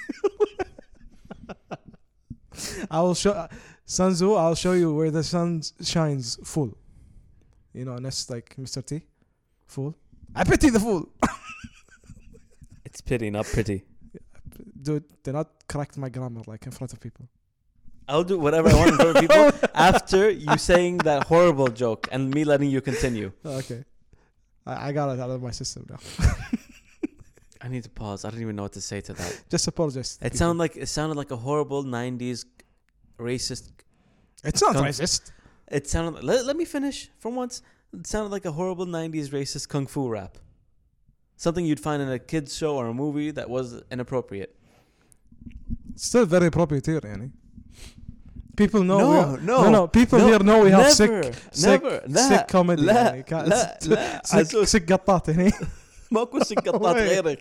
I will show uh, Sanzu. I'll show you where the sun shines full. You know, and that's like Mister T, fool. I pity the fool. It's pity, not pretty. Dude, do not correct my grammar like in front of people. I'll do whatever I want in front of people after you saying that horrible joke and me letting you continue. Okay, I, I got it out of my system now. I need to pause. I don't even know what to say to that. Just apologize. to It people. sounded like it sounded like a horrible nineties racist. It's not Con- racist. It sounded. Let, let me finish for once. It sounded like a horrible nineties racist kung fu rap. Something you'd find in a kids show or a movie that was inappropriate. Still very appropriate here, yani. People know. No, we are, no, no, no. People no, here know we have never, sick, sick, never. لا, sick comedy. لا, يعني. Ca- لا, لا. sick, عزوز. sick قطات هني. ماكو سقطات غيرك.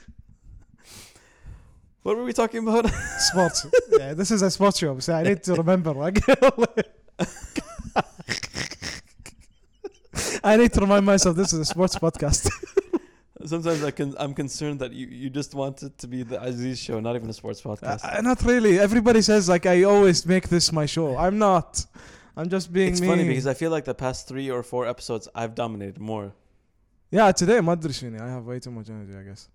What were we talking about? Sports. Yeah, this is a sports show, so I need to remember. I need to remind myself this is a sports podcast. Sometimes I can, I'm concerned that you, you just want it to be the Aziz show, not even a sports podcast. Uh, not really. Everybody says like I always make this my show. I'm not. I'm just being it's me. funny because I feel like the past three or four episodes I've dominated more. Yeah, today ما أدري شنو. I have way too much energy, I guess.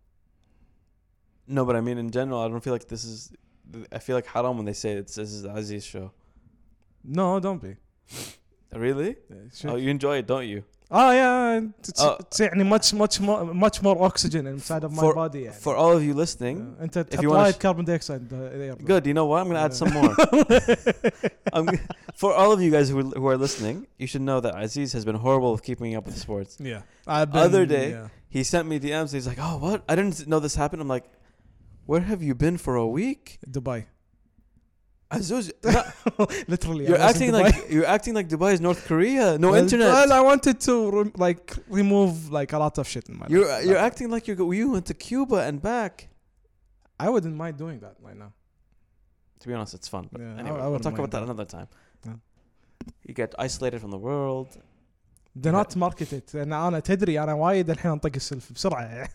No, but I mean in general, I don't feel like this is. I feel like haram when they say it's this is the Aziz show. No, don't be. Really? Yeah, oh, you enjoy it, don't you? Oh yeah, it's, Oh. it's يعني much much more much more oxygen inside of my For- body. يعني. For all of you listening, Yeah. أنت if you wanna applied sh- carbon dioxide. uh, there. good. You know what? I'm gonna add Yeah. some more. I'm, g- for all of you guys who who are listening, you should know that Aziz has been horrible with keeping up with sports. Yeah. I've been, Other day- yeah. He sent me D Ms. He's like, "Oh, what? I didn't know this happened." I'm like, "Where have you been for a week?" Dubai. Aziz, Literally. you're I was in acting Dubai. like you're acting like Dubai is North Korea. No well, internet. Well, I wanted to re- like remove like a lot of shit in my You're life. you're Like, acting like you go, you went to Cuba and back. I wouldn't mind doing that right now. To be honest, it's fun. But Yeah, I- anyway, I we'll wouldn't talk about mind that that. another time. Yeah. You get isolated from the world. Do not market it. أنا أنا تدري أنا وايد الحين أنطق السلف بسرعة.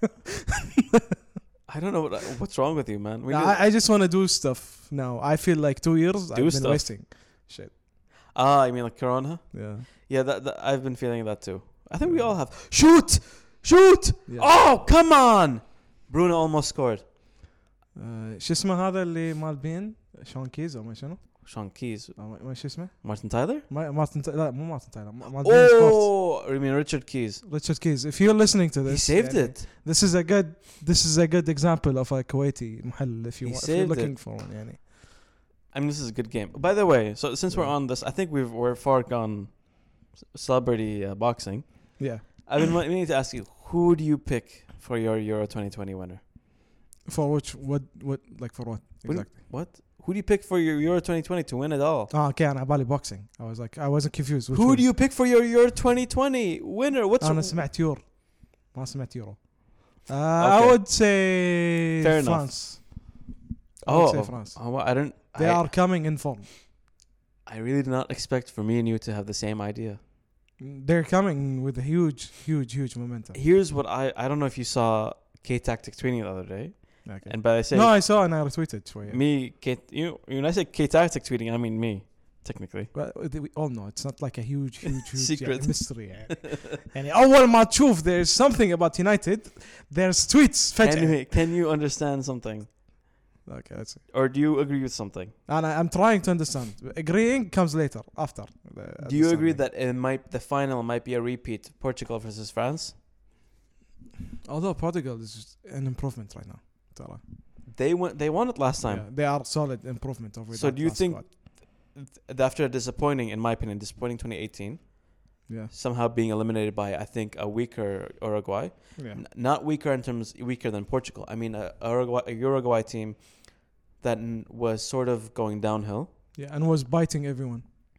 I don't know what, what's wrong with you, man. We need- I, I just want to do stuff now. I feel like two years Do I've been stuff. wasting. Shit. ah, you mean like Corona? Yeah. Yeah, that, that I've been feeling that too. I think we all have. Shoot, shoot! Yeah. Oh, come on! Bruno almost scored. آه، شو اسمه هذا اللي مال بين شون كيز أو ما شنو؟ Sean Keys, أو ما ما شو اسمه؟ Martin Tyler. ما مارتن تا- لا مو مارتن تايلر مال بين سبورتس. Oh, you mean Richard Keys? Richard Keys. If you're listening to He this, saved يعني, it. This is a good. This is a good example of a Kuwaiti محل if you He want, if saved you're looking it. for one. يعني. I mean, this is a good game. By the way, so since we're Yeah. on this, I think we've we're far gone. c- Celebrity uh, boxing. Yeah. I've been meaning to ask you, who do you pick for your Euro twenty twenty winner? For which what what like for what What do- exactly? What? Who do you pick for your Euro twenty twenty to win it all? Ah, okay. أنا بالي boxing. I was like I wasn't confused. Which Who one? do you pick for your Euro twenty twenty winner? What's أنا سمعت يور. ما سمعت يورو. Uh, Okay. I would say Fair enough. France. I would oh, say France. oh, well, I don't. They I, are coming in form. I really did not expect for me and you to have the same idea. They're coming with a huge, huge, huge momentum. Here's what I I don't know if you saw K Tactics tweeting the other day, Okay. and by I say No, I saw and I retweeted شوية. me K you when I say K Tactics tweeting, I mean me technically. But we all know it's not like a huge, huge, huge Secret. يعني mystery. يعني. يعني أول ما تشوف there's something about United, there's tweets Can فجأة. you, can you understand something, Okay, that's it. or do you agree with something? And I, I'm trying to understand. Agreeing comes later, after. the Do you agree understanding. that it might the final might be a repeat, Portugal versus France? Although Portugal is an improvement right now. ترى. They won they won it last time. Yeah, they are solid improvement over So that do you last think squad. th- after a disappointing, in my opinion, disappointing twenty eighteen, Yeah. somehow being eliminated by I think a weaker Uruguay, Yeah. N- not weaker in terms weaker than Portugal. I mean a, a Uruguay, a Uruguay team that n- was sort of going downhill. Yeah, and was biting everyone.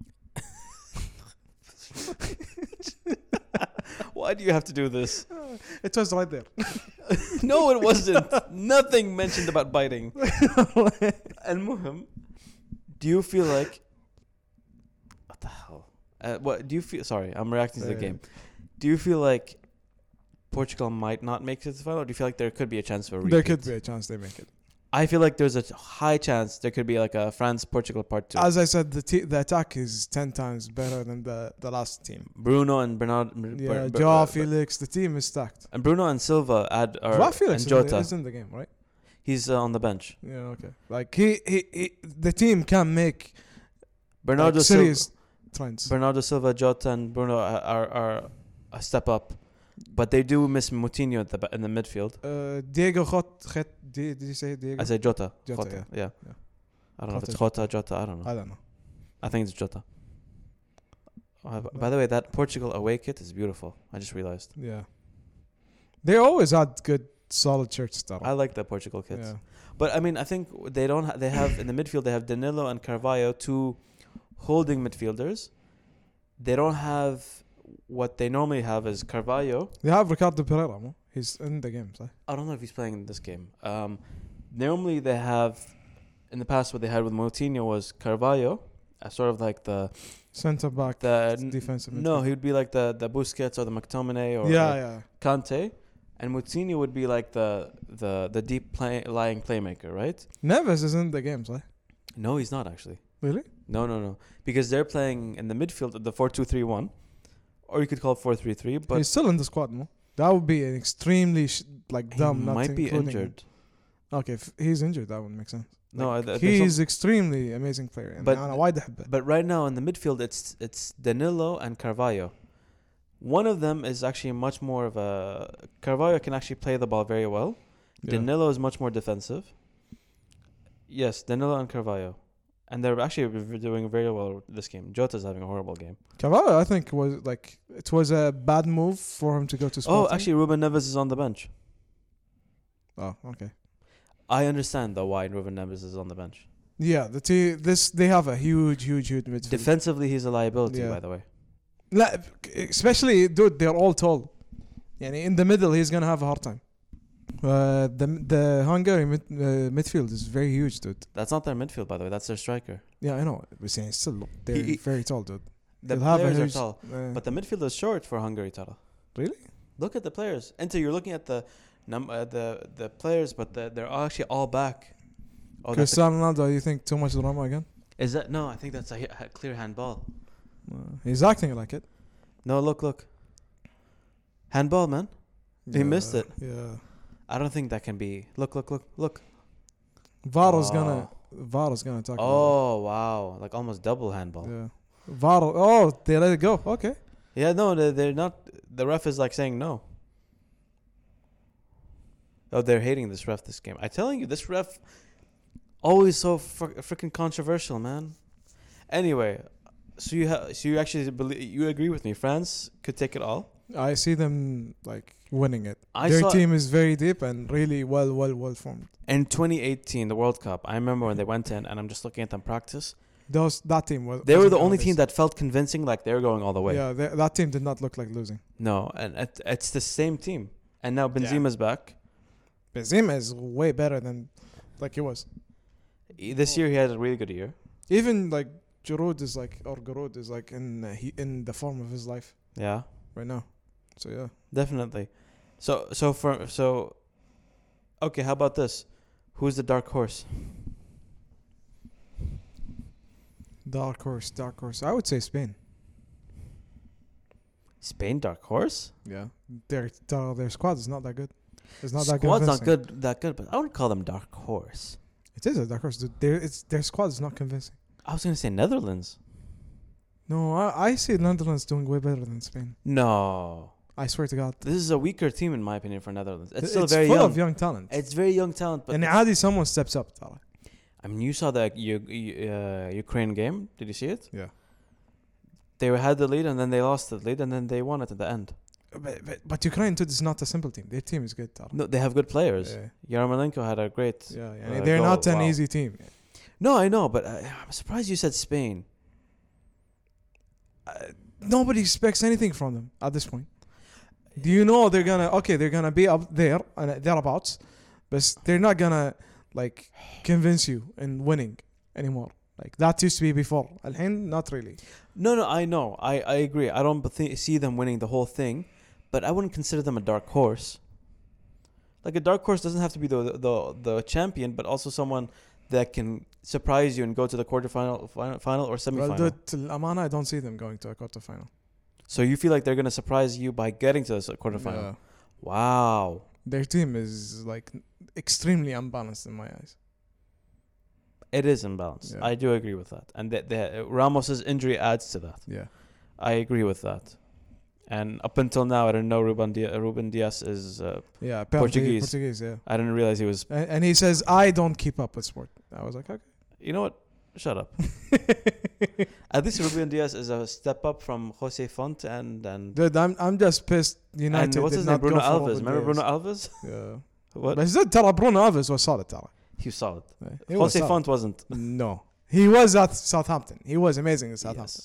Why do you have to do this? It was right there. No, it wasn't. Nothing mentioned about biting. And Muhim, do you feel like what the hell? Uh, what do you feel? Sorry, I'm reacting to the Uh, game. Do you feel like Portugal might not make it to the final, or do you feel like there could be a chance for a repeat? There could be a chance they make it. I feel like there's a high chance there could be like a France Portugal part two. As I said, the te- the attack is ten times better than the, the last team. Bruno and Bernard. Yeah, Ber- Ber- Joao uh, Felix, the team is stacked. and Bruno and Silva add or Joao Felix and is in, the, Jota. is in the game, right? He's uh, on the bench. Yeah, okay. Like he, he, he the team can make Bernardo like, Silva, serious trends. Bernardo Silva, Jota, and Bruno are, are are a step up, but they do miss Moutinho at the ba- in the midfield. Uh, Diego Jota, Jota, did you say Diego? I say Jota. Jota, Jota, yeah. yeah. Yeah. I don't know if Jota. it's Jota, Jota. I don't know. I don't know. I think it's Jota. Uh, b- by the way, that Portugal away kit is beautiful. I just realized. Yeah. They always had good, solid shirts. Though. I like the Portugal kits. Yeah. But I mean, I think they don't. Ha- they have in the midfield. They have Danilo and Carvalho, two holding midfielders. They don't have what they normally have is Carvalho. They have Ricardo Pereira. No? He's in the game, so. I don't know if he's playing in this game. Um, normally they have, in the past, what they had with Moutinho was Carvalho, as sort of like the Center back, the defensive. No, he would be like the the Busquets or the McTominay or yeah, or yeah. Kante, and Moutinho would be like the the the deep play, lying playmaker, right? Neves is in the game, so. No, he's not actually. Really? No, no, no, because they're playing in the midfield at the four two three one, or you could call it four three three. But he's still in the squad, no? That would be an extremely sh- like he dumb. Not might be including injured. Him. Okay, if he's injured, that would make sense. No, Like, th- there's he's some- extremely amazing player. And But- أنا وايد أحبه. But right now in the midfield, it's it's Danilo and Carvalho. One of them is actually much more of a Carvalho can actually play the ball very well. Yeah. Danilo is much more defensive. Yes, Danilo and Carvalho, and they're actually v- doing very well this game. Jota's having a horrible game. Carvalho, I think was like it was a bad move for him to go to. Oh, Sporting. actually, Ruben Neves is on the bench. Oh, okay. I understand though why Ruben Neves is on the bench. Yeah, the t- this they have a huge, huge, huge midfield. Defensively, he's a liability, Yeah. by the way. لا, especially dude, they're all tall. يعني in the middle, he's gonna have a hard time. Uh, the the Hungary mid, uh, midfield is very huge, dude. That's not their midfield, by the way. That's their striker. Yeah, I know. We're saying still they're He- he- very tall, dude. The They'll have a players are huge- tall, Uh, but the midfield is short for Hungary, Tara. Really? Look at the players. Enter, you're looking at the num- uh, the the players, but the, they're actually all back. Oh, that's a- Cristiano Ronaldo, you think too much drama again? is that no? I think that's a, hi- a clear handball. Uh, he's acting like it. No, look, look. Handball, man. He Yeah, missed it. Yeah. I don't think that can be. Look, look, look, look. Varo's Oh. gonna Varo's gonna talk. about Oh wow, like almost double handball. it. Yeah. Varo. Oh, they let it go. Okay. Yeah, no, they they're not. The ref is like saying no. Oh, they're hating this ref this game. I'm telling you, this ref always so fr- freaking controversial, man. Anyway, so you have, so you actually believe, you agree with me? France could take it all. I see them like winning it. I Their saw- team is very deep and really well, well, well formed. In twenty eighteen, the World Cup, I remember when they went in, and I'm just looking at them practice. Those that team was. They were wasn't the gonna only lose. team that felt convincing, like they were going all the way. Yeah, they, that team did not look like losing. No, and it, it's the same team. And now Benzema's back. Benzema is way better than like he was. E- This year he had a really good year. Even like Giroud is like or Giroud is like in uh, he in the form of his life Yeah, right now. So yeah, definitely. So so for so. Okay, how about this? Who's the dark horse? dark horse, dark horse. I would say Spain. Spain, dark horse. Yeah, their their, their squad is not that good. It's not that Squad's not convincing. good, that good, but I wouldn't call them dark horse. It is a dark horse. Dude. Their it's their squad is not convincing. I was gonna say Netherlands. No, I, I see Netherlands doing way better than Spain. No, I swear to God. this is a weaker team in my opinion for Netherlands. It's It's still very full young. of young talent. It's very young talent, but and عادي someone steps up. ترى. I mean, you saw the U- U- uh, Ukraine game. Did you see it? Yeah. They had the lead and then they lost the lead and then they won it at the end. But, but, but Ukraine too is not a simple team. Their team is good. ترى. No, they have good players. Yeah, Yarmolenko had a great. yeah. Uh, يعني they're goal. not an Wow. easy team. No, I know, but I, I'm surprised you said Spain. Uh, nobody expects anything from them at this point. Do you know they're gonna okay? They're gonna be up there and thereabouts, but they're not gonna like convince you in winning anymore. Like that used to be before. الحين not really. No, no, I know. I, I agree. I don't th- see them winning the whole thing, but I wouldn't consider them a dark horse. Like a dark horse doesn't have to be the the the champion, but also someone that can surprise you and go to the quarterfinal, final, final or Well, semifinal. dude, الأمانة, I don't see them going to a quarterfinal. So you feel like they're gonna surprise you by getting to the s- quarterfinal? Yeah. Wow. Their team is like extremely unbalanced in my eyes. It is imbalanced. Yeah. I do agree with that, and that the, Ramos's injury adds to that. Yeah. I agree with that. And up until now, I didn't know Ruben Diaz, Ruben Diaz is. Uh, Yeah. Portuguese. Portuguese. Yeah. I didn't realize he was. And, and he says I don't keep up with sport. I was like, okay. You know what? Shut up. At least Ruben Diaz is a step up from Jose Font and and. Dude, I'm I'm just pissed. United and what's did his name? not Bruno go for Alves. Ruben Remember Diaz. Bruno Alves? Yeah. What? But زاد ترى Bruno Alves was solid ترى. He was solid. He was Jose solid. Font wasn't. No. He was at Southampton. He was amazing at Southampton. Yes.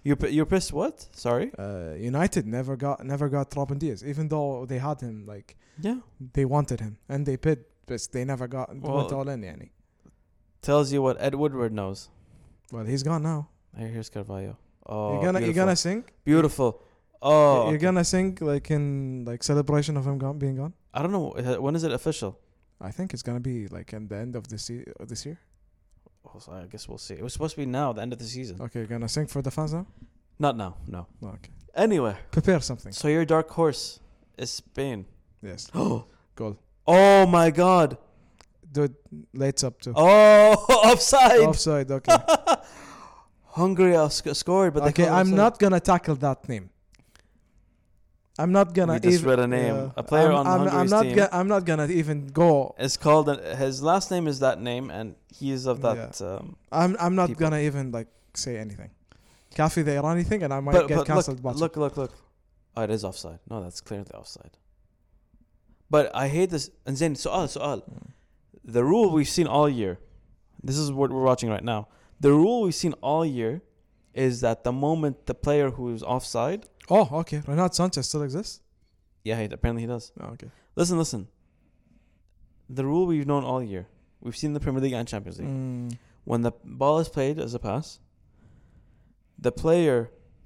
You're p- you're pissed. What? Sorry. Uh, United never got never got Robin Diaz, even though they had him. Like Yeah. they wanted him and they bid, but they never got Well, went all in. Yani. Tells you what Ed Woodward knows. Well, he's gone now. Here, here's Carvalho. Oh, you're gonna beautiful. you're gonna sing. Beautiful. Oh, You're okay. gonna sing like in like celebration of him gone, being gone. I don't know. Uh, When is it official? I think it's gonna be like in the end of this se- of this year. Oh, so I guess we'll see. It was supposed to be now, the end of the season. Okay, you're gonna sing for the fans now. Not now. No. Oh, okay, Anyway, prepare something. so your dark horse is Spain. Yes, Oh, goal. oh my God. Dude, lights up too. Oh, offside. Offside. Okay. Hungary uh, sc- scored, but they Okay, called I'm offside. not gonna tackle that name. I'm not gonna. We just even, read a name. yeah. A player I'm, on I'm, I'm Hungary's not. team. Ga- I'm not gonna even go. It's called. Uh, his last name is that name, and he is of that. Um, I'm. I'm not People. gonna even like say anything. Kafi the Irani thing, and I might but get but cancelled. look, look, look, look. Oh, it is offside. No, that's clearly offside. But I hate this. And then, su'al, su'al. The rule we've seen all year. This is what we're watching right now. The rule we've seen all year is that the moment the player who is offside. Oh, okay. Renato Sanchez still exists. Yeah, he, apparently he does. Oh, okay. Listen, listen. The rule we've known all year. We've seen the Premier League and Champions League. Mm. When the ball is played as a pass, the player,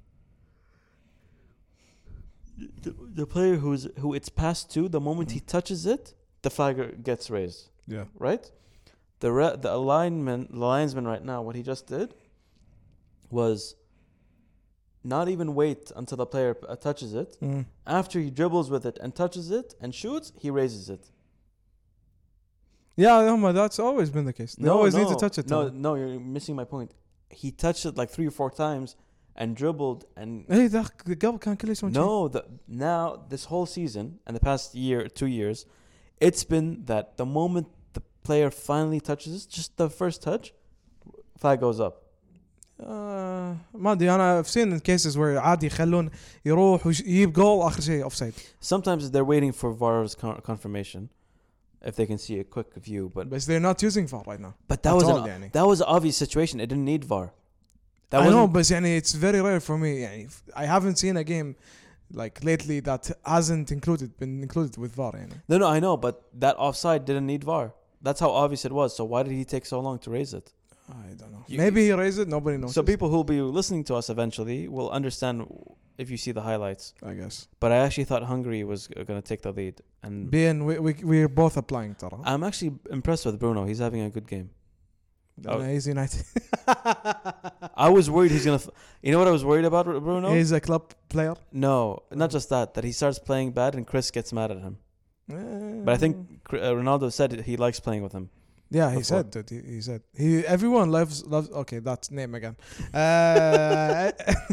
the, the player who's who it's passed to, the moment he touches it, the flag gets raised. Yeah. Right? The re- the alignment, the linesman right now, what he just did was not even wait until the player uh, touches it. Mm. After he dribbles with it and touches it and shoots, he raises it. Yeah, no, but that's always been the case. They always need to touch it. No, though. no, you're missing my point. He touched it like three or four times and dribbled and Hey, ده قبل كان كل شيء no. The, now this whole season and the past year, two years, it's been that the moment the player finally touches it, just the first touch, flag goes up. آه ما ادري انا I've seen in cases where عادي يخلون يروح ويجيب جول اخر شيء اوفسايد. Sometimes they're waiting for V A R's con- confirmation if they can see a quick view, but But they're not using V A R right now. but that At was all, an, يعني. that was an obvious situation. It didn't need V A R. That I know, wasn't- but يعني it's very rare for me. يعني I haven't seen a game like lately that hasn't included been included with V A R. يعني. No, no, I know, but that offside didn't need V A R. That's how obvious it was. So why did he take so long to raise it? I don't know. You- Maybe he raised it. Nobody knows. So people who'll be listening to us eventually will understand if you see the highlights. I guess. But I actually thought Hungary was going to take the lead, and Being we we we're both applying ترى. I'm actually impressed with Bruno. He's having a good game. Uh, he's United. I was worried he's gonna. F- you know what I was worried about Bruno? He's a club player. No, not just that. That he starts playing bad and Chris gets mad at him. But I think Cr- uh, Ronaldo said he likes playing with him. Yeah, he before. said that. He, he said he. Everyone loves loves. Okay, that's name again. Uh,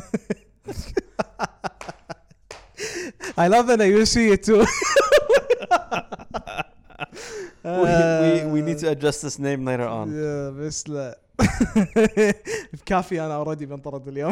I love that you see it too. we, we we need to address this name later on. يا بس لا بكافي انا اوريدي بنطرد اليوم.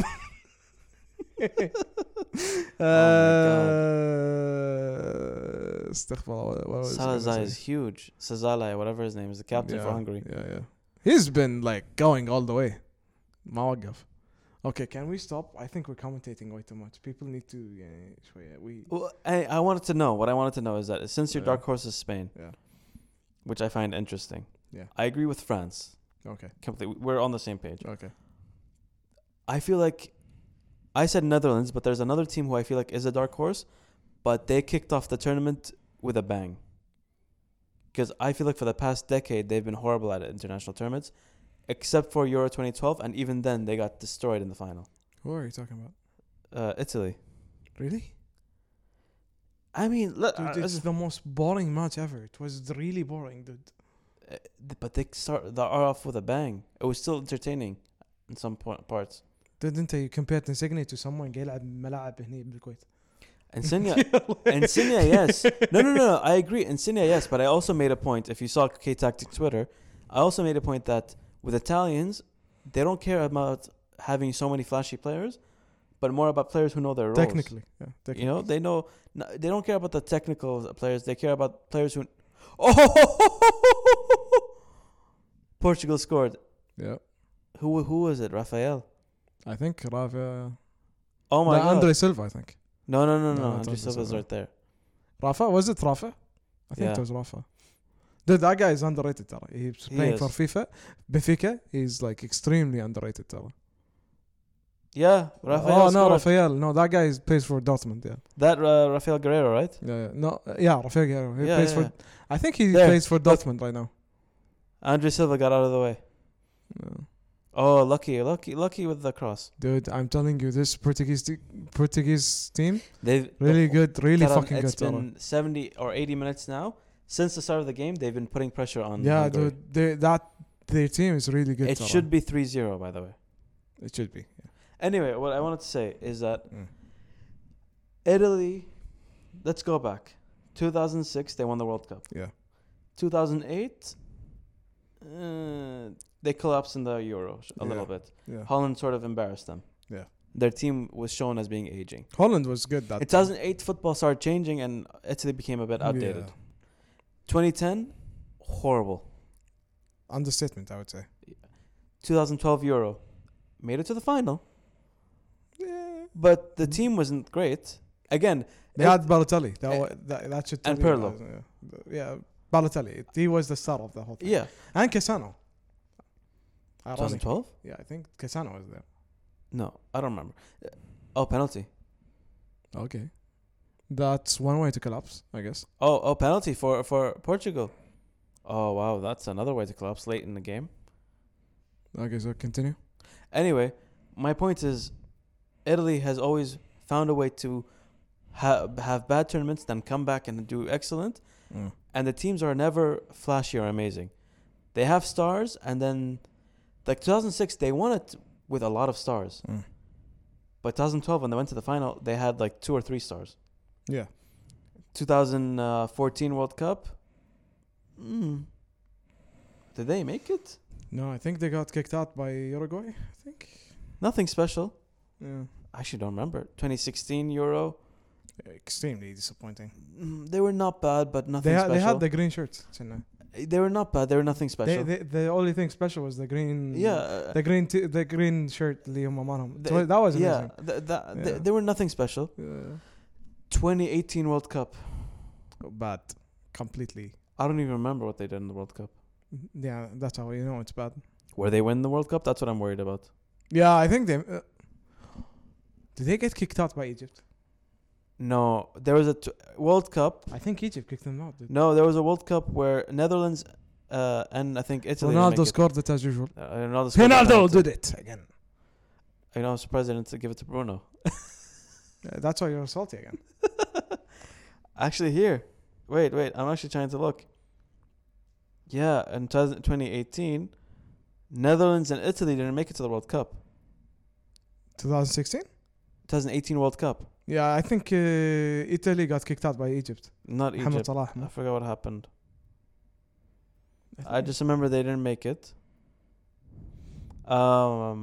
Uh, استغفر الله. what was I gonna Salazar say? is huge. Sazalai, whatever his name is, the captain for Yeah, Hungary. Yeah, yeah. He's been like going all the way. ما وقف. Okay, can we stop? I think we're commentating way too much. People need to. Yeah, شوية. We. Well, I, I wanted to know. What I wanted to know is that since your Yeah. dark horse is Spain, Yeah. which I find interesting, Yeah. I agree with France. Okay. Completely, we're on the same page. Okay. I feel like I said Netherlands, but there's another team who I feel like is a dark horse, but they kicked off the tournament with a bang. Because I feel like for the past decade they've been horrible at international tournaments, except for Euro twenty twelve, and even then they got destroyed in the final. Who are you talking about? Uh, Italy. Really? I mean, look, Dude, uh, it's the most boring match ever. It was really boring, dude. uh, but they start they are off with a bang. It was still entertaining in some po- parts. Dude, انت you compared Insigne to someone قاعد يلعب ملاعب هني بالكويت. Insigne, Insigne, yes. No, no, no, no. I agree. Insigne, yes. But I also made a point. If you saw K-Tactic Twitter, I also made a point that with Italians, they don't care about having so many flashy players, but more about players who know their roles. Technically, yeah. Technically. You know, they know. No, they don't care about the technical players. They care about players who. Oh, Portugal scored. Yeah. Who who was it? Rafael. I think Rafa. Oh my no, god. Andre Silva, I think. No, no, no, No, no. not Andre Andre Silva's Silva. right there. Rafa, was it Rafa? I think Yeah. it was Rafa. Dude, that guy is underrated. Tara. He's He playing is. for FIFA. Benfica, he's like extremely underrated. Tara. Yeah, Rafael. Oh no, scored. Rafael. No, that guy is, plays for Dortmund. Yeah. That uh, Rafael Guerrero, right? Yeah, yeah. No, uh, yeah, Rafael Guerrero. He Yeah, plays yeah, for. I think he There. plays for Look. Dortmund right now. Andre Silva got out of the way. Yeah. Oh, lucky, lucky, lucky with the cross. Dude, I'm telling you, this Portuguese te- Portuguese team They've really good, really Taran, fucking it's good. Tara. been seventy or eighty minutes now since the start of the game. They've been putting pressure on. Yeah, Hungary. dude, they, that their team is really good. It Tara. should be three zero, by the way. It should be. Yeah. Anyway, what I wanted to say is that Mm. Italy. Let's go back. two thousand six, they won the World Cup. Yeah. two thousand eight, uh, they collapsed in the Euro a Yeah. little bit. Yeah. Holland sort of embarrassed them. Yeah. Their team was shown as being aging. Holland was good that In two thousand eight, football started changing and Italy became a bit outdated. Yeah. twenty ten, horrible. Understatement, I would say. twenty twelve Euro, made it to the final, Yeah. but the team wasn't great. Again, They it- had Balotelli. That, Eh, wa- that, that should tell and you Pirlo. guys, Yeah. yeah, Balotelli. He was the star of the whole thing. yeah, And Cassano. twenty Ironic. twelve. Yeah, I think Cassano was there. No, I don't remember. Uh, Oh, penalty. Okay. That's one way to collapse, I guess. Oh, oh, penalty for for Portugal. Oh wow, that's another way to collapse late in the game. Okay, so continue. Anyway, my point is, Italy has always found a way to ha- have bad tournaments, then come back and do excellent. Mm. And the teams are never flashy or amazing. They have stars, and then, like two thousand six, they won it with a lot of stars. Mm. But twenty twelve, when they went to the final, they had like two or three stars. Yeah. twenty fourteen World Cup. Mm. Did they make it? No, I think they got kicked out by Uruguay. I think. Nothing special. Yeah. I actually don't remember. twenty sixteen Euro. Extremely disappointing. Mm, they were not bad, but nothing They, ha- special. they had the green shirts. Chennai. They were not bad. They were nothing They, special. they, the only thing special was the green. yeah. uh, The green, t- the green shirt. Leo Mamanam. the- That was yeah. amazing. th- that- Yeah. They, they were nothing special. Yeah. twenty eighteen World Cup. Bad. Completely. I don't even remember what they did in the World Cup. Yeah, that's how you know it's bad. Where they win the World Cup? That's what I'm worried about. Yeah, I think they. Uh, did they get kicked out by Egypt? No, there was a t- World Cup. I think Egypt kicked them out. Dude. No, there was a World Cup where Netherlands uh, and I think Italy. didn't Ronaldo make it. scored it as usual. Uh, Ronaldo, scored the Ronaldo penalty. did it again. You know, I'm surprised they didn't give it to Bruno. Uh, that's why you're salty again. Actually, here. Wait, wait. I'm actually trying to look. Yeah, in twenty eighteen, Netherlands and Italy didn't make it to the World Cup. twenty sixteen? twenty eighteen World Cup. Yeah, I think uh, Italy got kicked out by Egypt. Not Mohamed Egypt. Salah. I forgot what happened. I just remember they didn't make it. Um,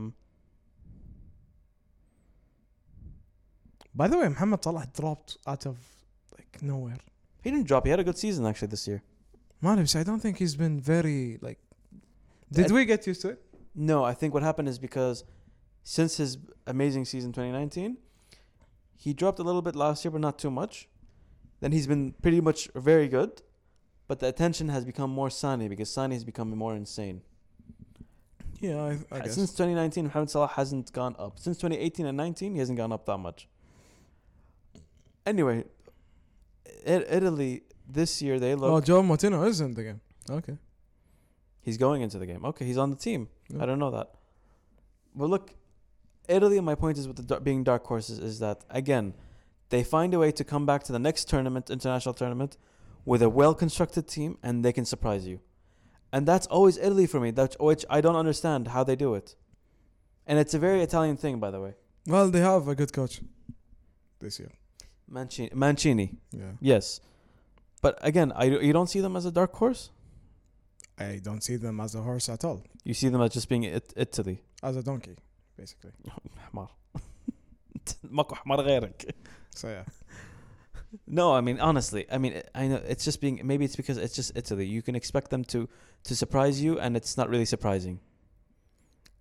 By the way, Mohamed Salah dropped out of like nowhere. he didn't drop. He had a good season actually this year. Malibs, I don't think he's been very like. Did I- we get used to it? No, I think what happened is because since his amazing season twenty nineteen, he dropped a little bit last year, but not too much. Then he's been pretty much very good, but the attention has become more Sani because Sani has become more insane. Yeah, I, I guess. Since twenty nineteen, Mohamed Salah hasn't gone up. Since twenty eighteen and nineteen, he hasn't gone up that much. Anyway, I- Italy this year they look. Oh, Joe Moutinho is in the game. Okay. He's going into the game. Okay, he's on the team. Yeah. I don't know that. But look, Italy, my point is with the dar- being dark horses is that, again, they find a way to come back to the next tournament, international tournament, with a well-constructed team, and they can surprise you. And that's always Italy for me, that's, which I don't understand how they do it. And it's a very Italian thing, by the way. Well, they have a good coach this year. Mancini, Mancini Yeah. yes. But again, I, you don't see them as a dark horse? I don't see them as a horse at all. You see them as just being it- Italy. As a donkey, basically. حمار. ماكو حمار غيرك. So yeah. No, I mean honestly, I mean I know it's just being maybe it's because it's just Italy. You can expect them to to surprise you, and it's not really surprising.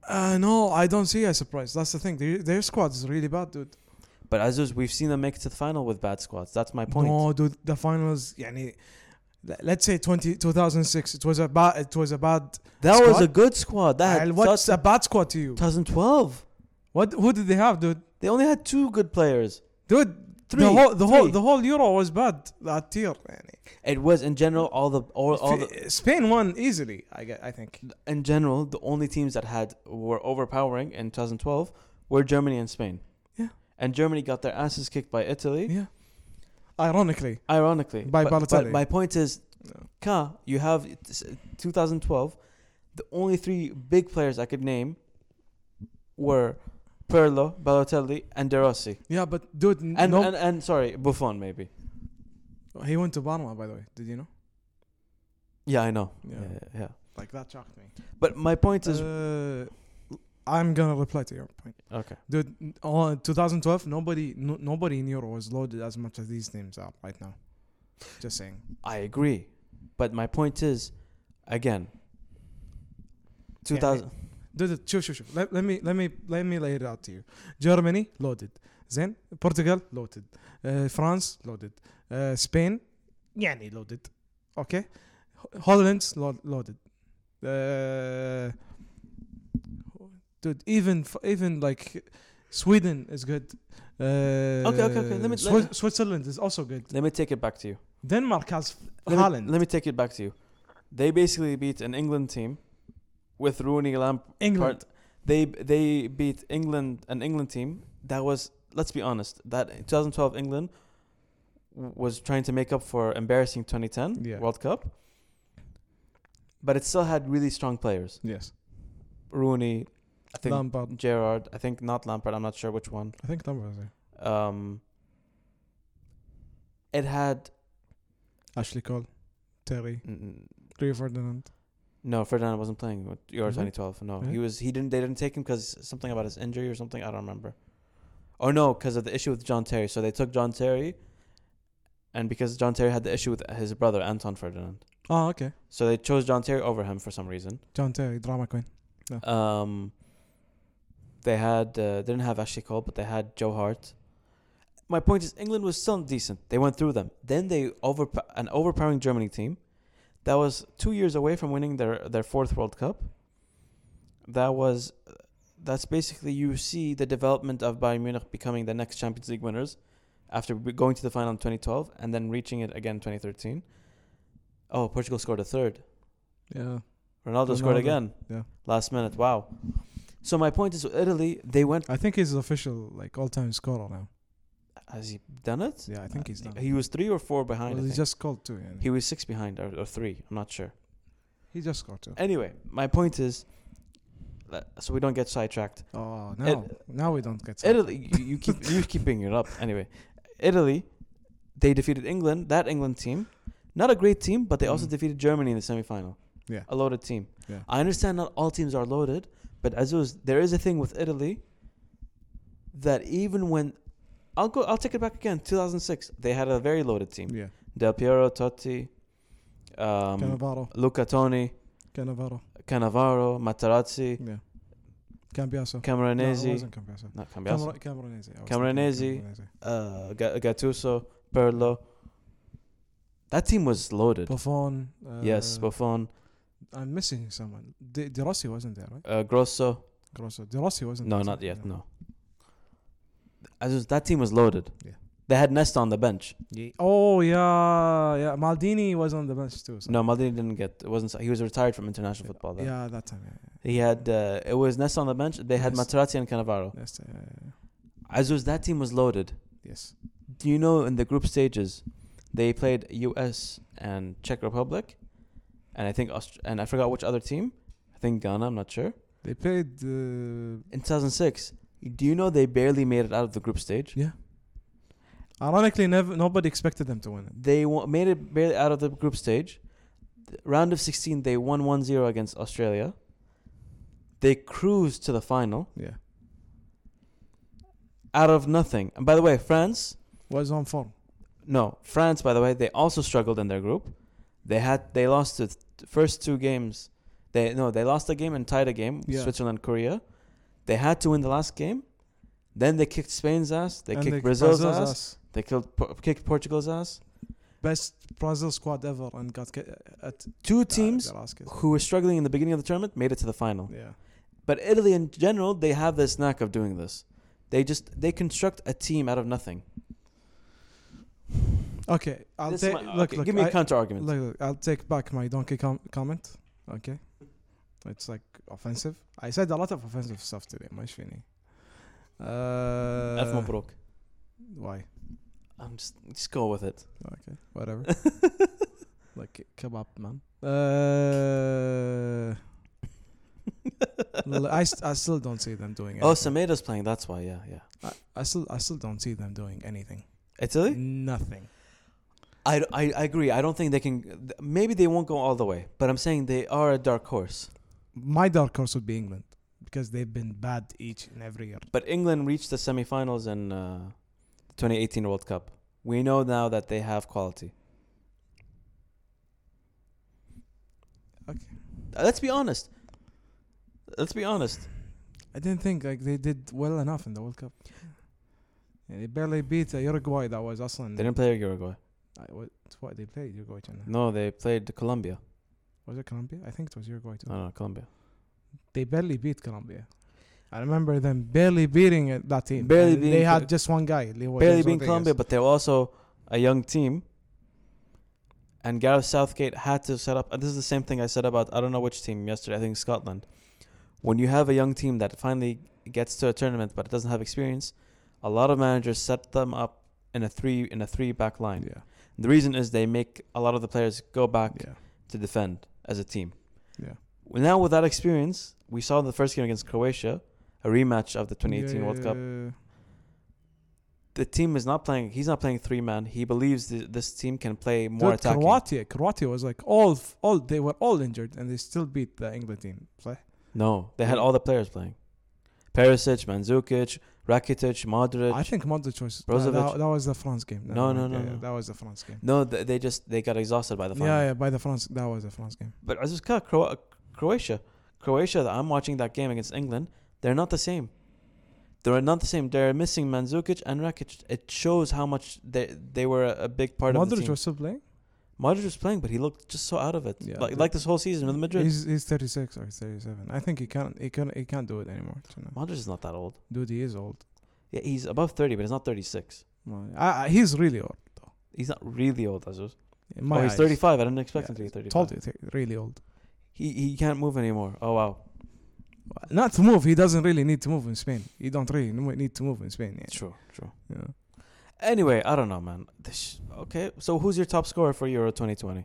Uh, no, I don't see a surprise. That's the thing. Their, their squad is really bad, dude. But Azuz, we've seen them make it to the final with bad squads. That's my point. No, dude. The finals, يعني, let's say twenty, two thousand six. It was a bad. It was a bad. that squad? was a good squad. That And had what's such- a bad squad to you? twenty twelve. What? Who did they have, dude? They only had two good players. Dude, Three. the whole the whole Three. the whole Euro was bad. That tier, يعني. It was in general all the all, all the F- Spain won easily. I get. I think. in general the only teams that had were overpowering in twenty twelve were Germany and Spain. Yeah. And Germany got their asses kicked by Italy. Yeah. Ironically, Ironically. By but, Balotelli. but my point is, No. Ka, you have twenty twelve. The only three big players I could name were Pirlo, Balotelli, and De Rossi. yeah, but dude, n- And, no, and and sorry, Buffon maybe. he went to Parma, by the way. Did you know? Yeah, I know. Yeah. Yeah, yeah. Like that shocked me. But my point is, Uh, I'm gonna reply to your point, okay. dude. n- Oh, twenty twelve, nobody, no, nobody in Euro was loaded as much as these teams are right now. Just saying. I agree, but my point is, again, two thousand. Dude, شوف شوف شوف. Let, let me let me let me lay it out to you. Germany loaded. زين. Portugal loaded. Uh, France loaded. Uh, Spain يعني loaded. Okay. Holland lo- loaded. Uh, dude, even f- even like Sweden is good. Uh, Okay, okay, okay. Let me- Swi- let- Switzerland is also good. Let me take it back to you. Denmark has Let me, Haaland. let me take it back to you. They basically beat an England team with Rooney, Lampard. England. They they beat England, an England team that was, let's be honest, that twenty twelve England w- was trying to make up for embarrassing twenty ten Yeah. World Cup, but it still had really strong players. Yes. Rooney, I think Lampard. Gerrard, I think not Lampard. I'm not sure which one. I think Lampard. Yeah. Um, it had Ashley Cole. Terry. mm, Rio Ferdinand. no, Ferdinand wasn't playing with Euro Mhm. twenty twelve. No, Yeah. he was. He didn't. They didn't take him because something about his injury or something. I don't remember. Or no, because of the issue with John Terry. So they took John Terry, and because John Terry had the issue with his brother Anton Ferdinand, Oh, okay. so they chose John Terry over him for some reason. John Terry, drama queen. Um, they had uh, they didn't have Ashley Cole, but they had Joe Hart. My point is, England was still decent. They went through them. Then they over an overpowering Germany team that was two years away from winning their their fourth World Cup. That was that's basically you see the development of Bayern Munich becoming the next Champions League winners after be- going to the final in twenty twelve and then reaching it again in twenty thirteen. Oh, Portugal scored a third. Yeah. Ronaldo, scored Ronaldo, again. yeah. Last minute. Wow. So my point is, with Italy, they went. I think he's official like all-time scorer now. Has he done it? Yeah, I think he's done. He was three or four behind. Well, I he think. just scored two. Yeah. He was six behind or, or three. I'm not sure. He just scored two. Anyway, my point is, that- so we don't get sidetracked. Oh no! now we don't get. Italy, you, you keep you keep bringing it up. Anyway, Italy, they defeated England. That England team, not a great team, but they also Mm. defeated Germany in the semifinal. Yeah. A loaded team. Yeah. I understand not all teams are loaded, but Azuz, there is a thing with Italy that even when I'll go, I'll take it back again. two thousand six, they had a very loaded team. Yeah. Del Piero, Totti, um, Cannavaro. Luca Toni, Cannavaro. Cannavaro, Materazzi, Yeah. Cambiaso. No, it Camoranesi, wasn't Cambiaso. not Cambiaso, Camera- Camoranesi. I was Camoranesi. thinking Camoranesi. uh, Ga- Gattuso, Pirlo. That team was loaded. Buffon. Uh, yes, Buffon, I'm missing someone. De, De Rossi wasn't there, right? uh, Grosso. Grosso. De Rossi wasn't. No, there, not so- yet. yeah. No. As was, that team was loaded. Yeah. They had Nesta on the bench. Oh yeah, yeah. Maldini was on the bench too. So. No, Maldini didn't get. It wasn't. He was retired from international football. Then. Yeah, that time. Yeah, He had. Uh, it was Nesta on the bench. They had Yes. Materazzi and Cannavaro. yeah. Yes, yeah, yeah, As was, that team was loaded. yeah. Yes. Do you know in the group stages, they played U S and Czech Republic, and I think Aust- and I forgot which other team. I think Ghana. I'm not sure. They played. Uh, In two thousand six, do you know they barely made it out of the group stage? yeah. Ironically, never nobody expected them to win it. They w- made it barely out of the group stage. The round of sixteen, they won one zero against Australia. They cruised to the final Yeah. out of nothing. And by the way, France, Was on form. no, France, by the way, they also struggled in their group. They had they lost the th- first two games They no, they lost a game and tied a game. Yeah. Switzerland, Korea. They had to win the last game. Then they kicked Spain's ass. They And kicked they- Brazil's, Brazil's ass. ass. They killed, po- kicked Portugal's ass. Best Brazil squad ever, and got ki- at Two uh, teams their ass kicked. who were struggling in the beginning of the tournament made it to the final. Yeah. But Italy in general, they have this knack of doing this. They just they construct a team out of nothing. Okay, I'll This is take. my- Look, okay, look. give me a I- counter argument. Look, look, I'll take back my donkey com- comment. Okay, it's like offensive. I said a lot of offensive stuff today. مش فيني. ألف Uh, مبروك. why? I'm just just go with it. Okay, whatever. Like kebab, man. Uh, l- I, st- I still don't see them doing anything. Oh, Semedo's playing. That's why. Yeah, yeah. I, I still I still don't see them doing anything. Italy. Nothing. I, I, I agree. I don't think they can. Maybe they won't go all the way, but I'm saying they are a dark horse. My dark horse would be England because they've been bad each and every year. But England reached the semifinals in uh, the twenty eighteen World Cup. We know now that they have quality. Okay. Uh, Let's be honest. Let's be honest. I didn't think like they did well enough in the World Cup. Yeah, they barely beat uh, Uruguay. That was Aslan. They didn't play Uruguay. I, what, what they played Uruguay. China. No, they played Colombia. Was it Colombia? I think it was Uruguay too. No, no, Colombia. They barely beat Colombia. I remember them barely beating uh, that team. Barely And beating They had Col- just one guy. Leo Barely James being Rodriguez. Colombia, but they're also a young team. And Gareth Southgate had to set up. And this is the same thing I said about I don't know which team yesterday. I think Scotland. When you have a young team that finally gets to a tournament but it doesn't have experience, a lot of managers set them up in a three in a three back line. Yeah. The reason is they make a lot of the players go back Yeah. to defend as a team. Yeah. Well, now with that experience, we saw the first game against Croatia, a rematch of the twenty eighteen World Cup. Yeah. The team is not playing. He's not playing three man. He believes th- this team can play more Dude, attacking. Croatia, Croatia was like all, f- all they were all injured and they still beat the England team. صح? No, they had Yeah. all the players playing. Perisic, Mandzukic, Rakitic, Modric. I think Modric was that, Brozovic. that, that was the France game. No, mind. no, no, Yeah, no. that was the France game. No, th- they just they got exhausted by the final. Yeah, yeah, by the France, that was the France game. But I just got Cro- Croatia. Croatia. I'm watching that game against England. They're not the same. They're not the same. They're missing Mandzukic and Rakitic. It shows how much they they were a, a big part of the Modric team. was still playing. Modric was playing, but he looked just so out of it. Yeah, like the- like this whole season with Madrid. He's he's thirty-six or thirty-seven. I think he can't he can't he can't do it anymore. You know. Modric is not that old. Dude, he is old. Yeah, he's above thirty, but he's not thirty-six. Well, I, I, he's really old though. He's not really old, Azus. In my Oh, he's eyes. thirty-five. I didn't expect Yeah, him to be thirty-five. Told you, th- really old. He he can't move anymore. Oh wow. Not to move. He doesn't really need to move in Spain. He don't really n- need to move in Spain. Yeah. True, true. Yeah. Anyway, I don't know, man. This, okay, so who's your top scorer for Euro twenty twenty?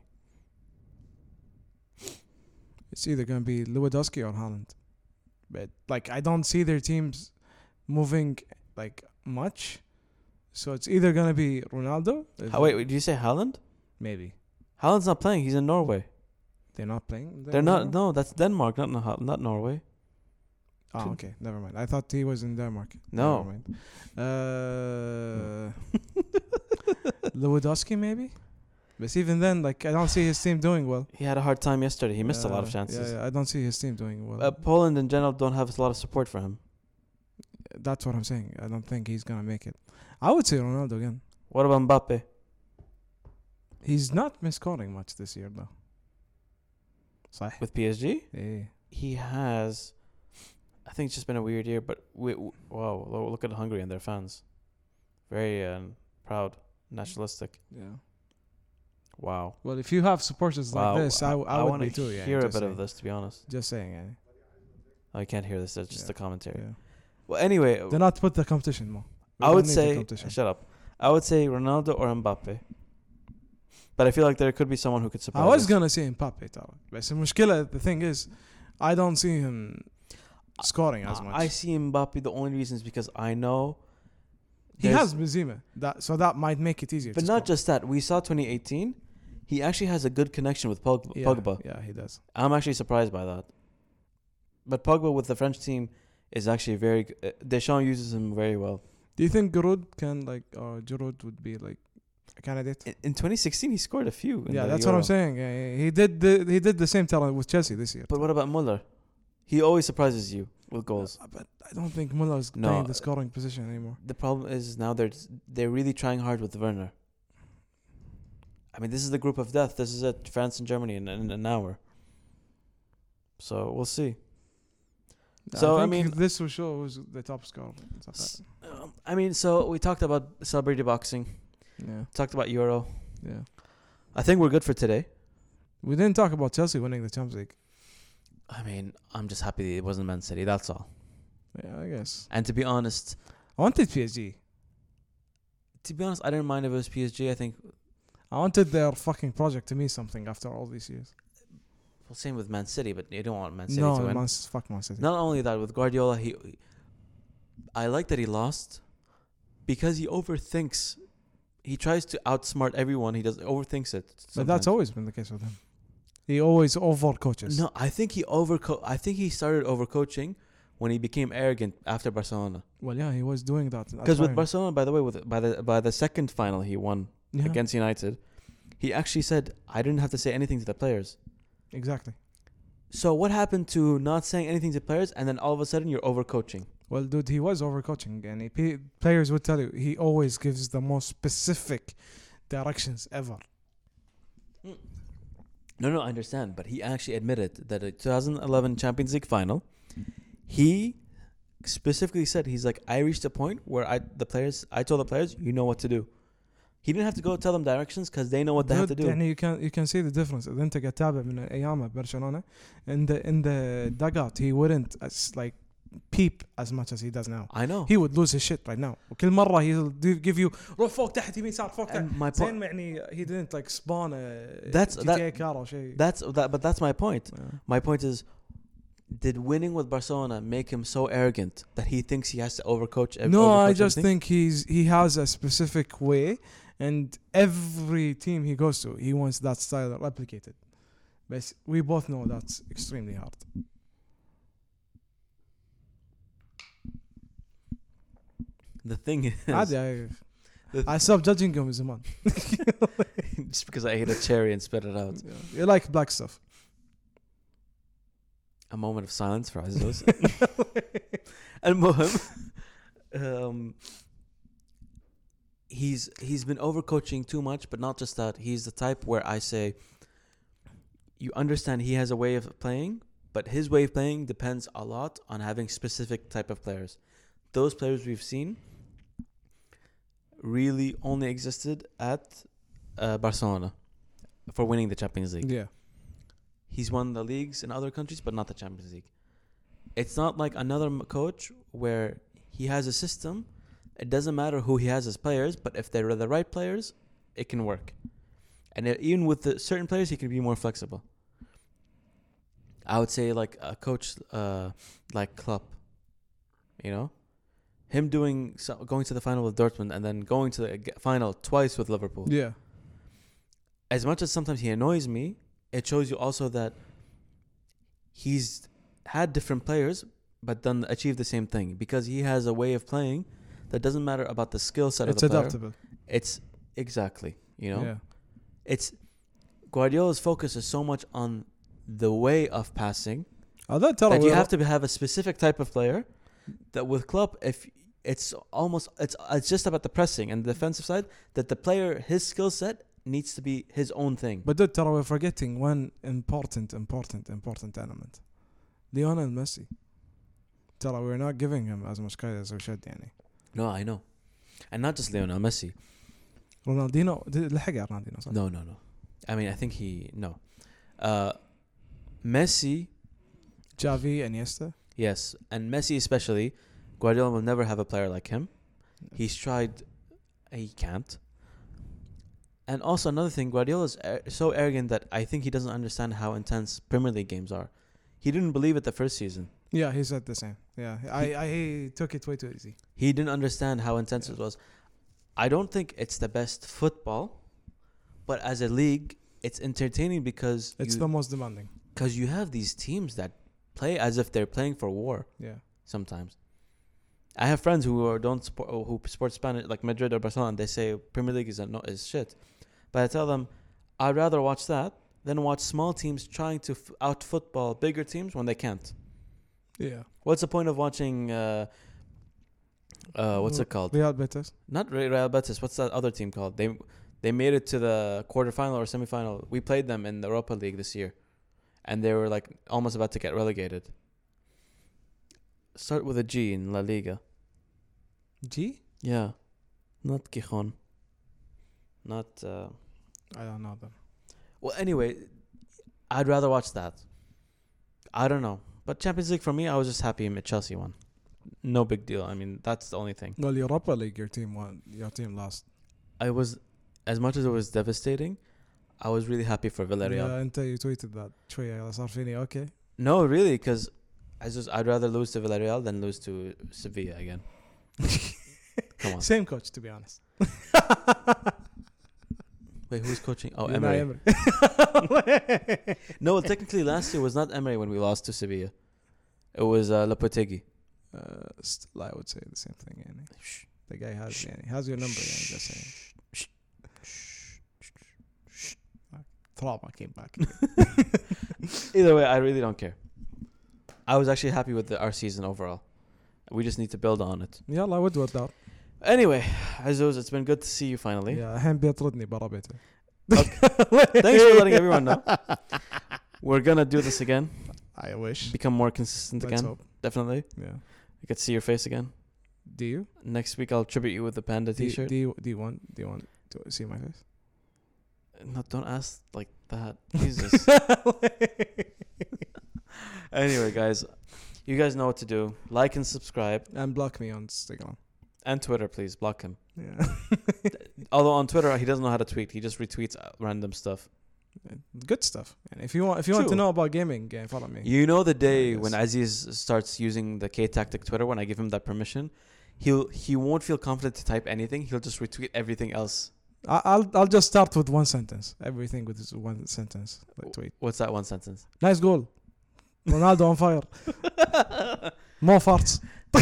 It's either gonna be Lewandowski or Haaland, but like I don't see their teams moving like much. So it's either gonna be Ronaldo. if- How, wait, wait, did you say Haaland? maybe Haaland's not playing. He's in Norway. they're not playing. They're not. No, that's Denmark, not not not Norway. Oh, okay. Never mind. I thought he was in Denmark. No. Never mind. Uh, Lewandowski maybe. But even then, like I don't see his team doing well. He had a hard time yesterday. He missed a lot of Uh, chances. Yeah, yeah, I don't see his team doing well. Uh, Poland in general don't have a lot of support for him. That's what I'm saying. I don't think he's gonna make it. I would say Ronaldo again. What about Mbappe? He's not misscoring much this year though. صح. With P S G? Yeah. He has. I think it's just been a weird year, but we, w wow, lo- look at Hungary and their fans. Very um, proud, nationalistic. Yeah. Wow. Well, if you have supporters wow. like this, I, w- I, would want be to too. Yeah. hear a just bit of saying. this, to be honest. Just saying. Yeah. Oh, I can't hear this. It's just Yeah. the commentary. Yeah. Well, anyway, Do not put the competition more. We I don't would need the say. competition. Shut up. I would say Ronaldo or Mbappe. But I feel like there could be someone who could surprise I was us. gonna say Mbappe, طبعا. بس المشكلة, the thing is, I don't see him scoring as much. I see Mbappe. The only reason is because I know he there's- has Benzema, that so that might make it easier. But to not score. just that. We saw twenty eighteen. He actually has a good connection with Pogba. yeah, Pogba. Yeah, he does. I'm actually surprised by that. But Pogba with the French team is actually very. Uh, Deschamps uses him very well. Do you think Giroud can like, or Giroud would be like a candidate. In, in twenty sixteen, he scored a few. In Yeah, the that's Euro. what I'm saying. Uh, he did the he did the same talent with Chelsea this year. But what about Muller? He always surprises you with goals. Uh, but I don't think Muller is No, playing the uh, scoring position anymore. The problem is now they're they're really trying hard with Werner. I mean, this is the group of death. This is it. France and Germany in, in an hour. So we'll see. So, I I, think mean- this will show who's the top scorer. and stuff like S- um, I mean, so we talked about celebrity boxing. that. Yeah, Talked about Euro. yeah. I think we're good for today. We didn't talk about Chelsea winning the Champions League. I mean, I'm just happy it wasn't Man City. That's all. Yeah, I guess. And to be honest, I wanted P S G. to be honest, I didn't mind if it was P S G. I think I wanted their fucking project to mean something after all these years. well, same with Man City, but you don't want Man City No, to win. Man, fuck Man City. Not only that, with Guardiola, he, I like that he lost because he overthinks. He tries to outsmart everyone. He does overthinks it. But sometimes. that's always been the case with him. He always overcoaches. No, I think he overco. I think he started overcoaching when he became arrogant after Barcelona. Well, yeah, he was doing that. at Because with times. Barcelona, by the way, with by the by the second final he won Yeah, against United, he actually said, "I didn't have to say anything to the players." exactly. So what happened to not saying anything to players, and then all of a sudden you're overcoaching? Well, dude, he was overcoaching, and he, p- players would tell you he always gives the most specific directions ever. No, no, I understand, but he actually admitted that the twenty eleven Champions League final, he specifically said, he's like, I reached a point where I the players, I told the players, you know what to do. He didn't have to go tell them directions because they know what they have to Dude, do. يعني you can you can see the difference. إذا أنت قاعد تتابع من أيامه برشلونة, in the in the dugout he wouldn't as like peep as much as he does now. I know. He would lose his shit right now. وكل مرة he'll do- give you روح فوق تحت يمين صار فوق تحت. And my زين point, ما يعني he didn't like spawn a That's- G T A that- car or شيء. that's that, but that's my point. Yeah. My point is, did winning with Barcelona make him so arrogant that he thinks he has to overcoach? ev- No, overcoach I just everything? think he's he has a specific way, and every team he goes to, he wants that style replicated. But we both know that's extremely hard. the thing is, عادي, I, The- I stopped judging him زمان. just because I ate a cherry and spit it out. You like black stuff. A moment of silence for Azos. المهم, um, he's he's been overcoaching too much, but not just that. He's the type where I say, you understand he has a way of playing, but his way of playing depends a lot on having specific type of players. Those players we've seen really only existed at uh, Barcelona for winning the Champions League. Yeah. He's won the leagues in other countries, but not the Champions League. It's not like another m- coach where he has a system. It doesn't matter who he has as players, but if they're the right players, it can work. And it, even with the certain players, he can be more flexible. I would say like a coach uh, like Klopp, you know, him doing so, going to the final with Dortmund and then going to the g- final twice with Liverpool. Yeah. As much as sometimes he annoys me, it shows you also that he's had different players but then achieved the same thing because he has a way of playing that doesn't matter about the skill set It's of the player. adaptable. It's exactly, you know, Yeah. it's Guardiola's focus is so much on the way of passing هذا ترى that you ويا- have to have a specific type of player. That with Klopp, if it's almost it's it's just about the pressing and the defensive side, that the player, his skill set needs to be his own thing. But dude, ترى we're forgetting one important, important, important element. Lionel Messi. ترى we're not giving him as much credit as we should يعني. No, I know, and not just Lionel Messi. رونالدينو لحق على رونالدينو صح؟ No, no, no. I mean, I think he no. Uh, Messi, جافي انيستا. yes, and Messi especially. Guardiola will never have a player like him. He's tried, he can't. And also another thing, Guardiola is ar- so arrogant that I think he doesn't understand how intense Premier League games are. He didn't believe it the first season. Yeah, he said the same. Yeah, I, I he took it way too easy. He didn't understand how intense it was. I don't think it's the best football, but as a league, it's entertaining because It's you, the most demanding. because you have these teams that play as if they're playing for war Yeah. sometimes. I have friends who are, don't support who support Spanish like Madrid or Barcelona. And they say Premier League is a, no, is shit, but I tell them I'd rather watch that than watch small teams trying to f- out football bigger teams when they can't. Yeah. What's the point of watching? Uh, uh, what's it called? Real Betis. Not Re- Real Betis. What's that other team called? They they made it to the quarterfinal or semifinal. We played them in the Europa League this year, and they were like almost about to get relegated. Start with a G in La Liga. G? Yeah, not Gijon. Not. Uh, I don't know them. well, anyway, I'd rather watch that. I don't know, but Champions League for me, I was just happy Chelsea won. No big deal. I mean, that's the only thing. Well, Europa League, your team won. Your team lost. I was, as much as it was devastating, I was really happy for Villarreal. Yeah, أنت you tweeted that. شوية صار فيني okay. No, really, because I just I'd rather lose to Villarreal than lose to Sevilla again. Come on. Same coach, to be honest. Wait, who's coaching? Oh, Unai Emery. Emery. No, technically last year was not Emery when we lost to Sevilla. It was uh, Lopetegui. Uh, still, I would say the same thing. يعني. The guy has يعني, has your number. يعني, just saying. Trauma came back. Either way, I really don't care. I was actually happy with the, our season overall. We just need to build on it. يلا ود ودار. Anyway, Azuz, it's been good to see you finally. يا الحين بيطردني برا بيته. Thanks for letting everyone know. We're gonna do this again. I wish. Become more consistent Let's again. hope. Definitely. Yeah. I get to see your face again. Do you? Next week I'll tribute you with the panda Do you, T-shirt. do you do you want do you want to see my face? No, don't ask like that. Jesus. Anyway, guys, you guys know what to do. Like and subscribe. And block me on Instagram. And Twitter, please. Block him. Yeah. Although on Twitter, he doesn't know how to tweet. He just retweets uh, random stuff. Good stuff. And if you want if you want True. to know about gaming, yeah, follow me. You know the day Yes. when Aziz starts using the K-Tactic Twitter, when I give him that permission, he'll he won't feel confident to type anything. He'll just retweet everything else. I- I'll I'll just start with one sentence. Everything with this one sentence. Like tweet. What's that one sentence? Nice goal. Ronaldo on fire. More farts.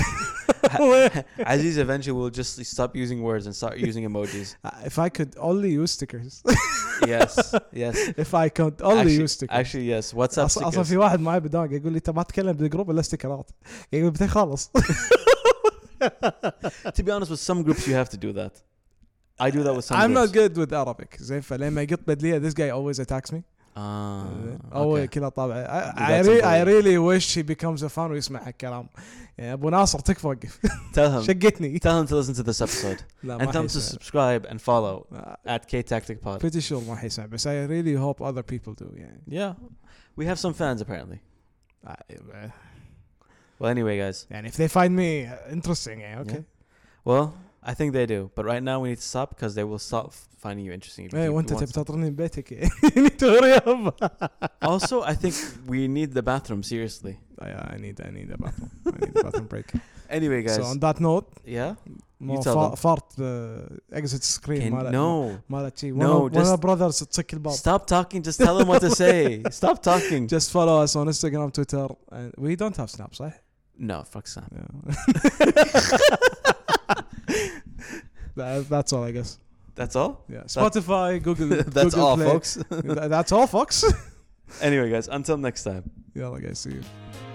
Aziz eventually will just stop using words and start using emojis. Uh, if I could only use stickers. Yes, yes. If I could only Actually, use stickers. actually, yes. WhatsApp أص- اصلا stickers. في واحد معي بداق يقول لي انت ما تتكلم بالجروب الا استيكرات يقول بتي خالص. To be honest, with some groups you have to do that. I do that with some I'm groups. not good with Arabic زين فلما يقط بدليه this guy always attacks me. Ah, أول okay. كذا طابع. I, You I, got re- some I bullying. really wish he becomes a fan ويسمع هالكلام. يا ابو ناصر تكفى وقف. Tell him. شقتني. Tell him to listen to this episode لا and ما tell him to حيسمع. subscribe and follow Uh, at K-Tactic Pod. pretty sure ما حيسمع بس I really hope other people do يعني. Yeah, we have some fans apparently. Uh, Well, anyway, guys. يعني if they find me interesting يعني okay. Well, I think they do, but right now we need to stop because they will stop finding you interesting. if ايه you- وانت you want تبي to- تطرني من بيتك. You need to hurry up. Also, I think we need the bathroom seriously. Yeah, I need I need a bathroom. I need a bathroom break. Anyway, guys. So on that note, Yeah. more tell fa- them. fart uh, exit screen. Can, مال- no. مالت شي. No, One of- one just- of brothers تسك الباب. Stop talking. Just tell them what to say. Stop talking. Just follow us on Instagram, Twitter, and we don't have Snap, صح? No, fuck Sam. Yeah. that, that's all, I guess. That's all. Yeah. Spotify, Google. That's Google all, Play. folks. That's all, folks. Anyway, guys. Until next time. Yeah, guys, see you.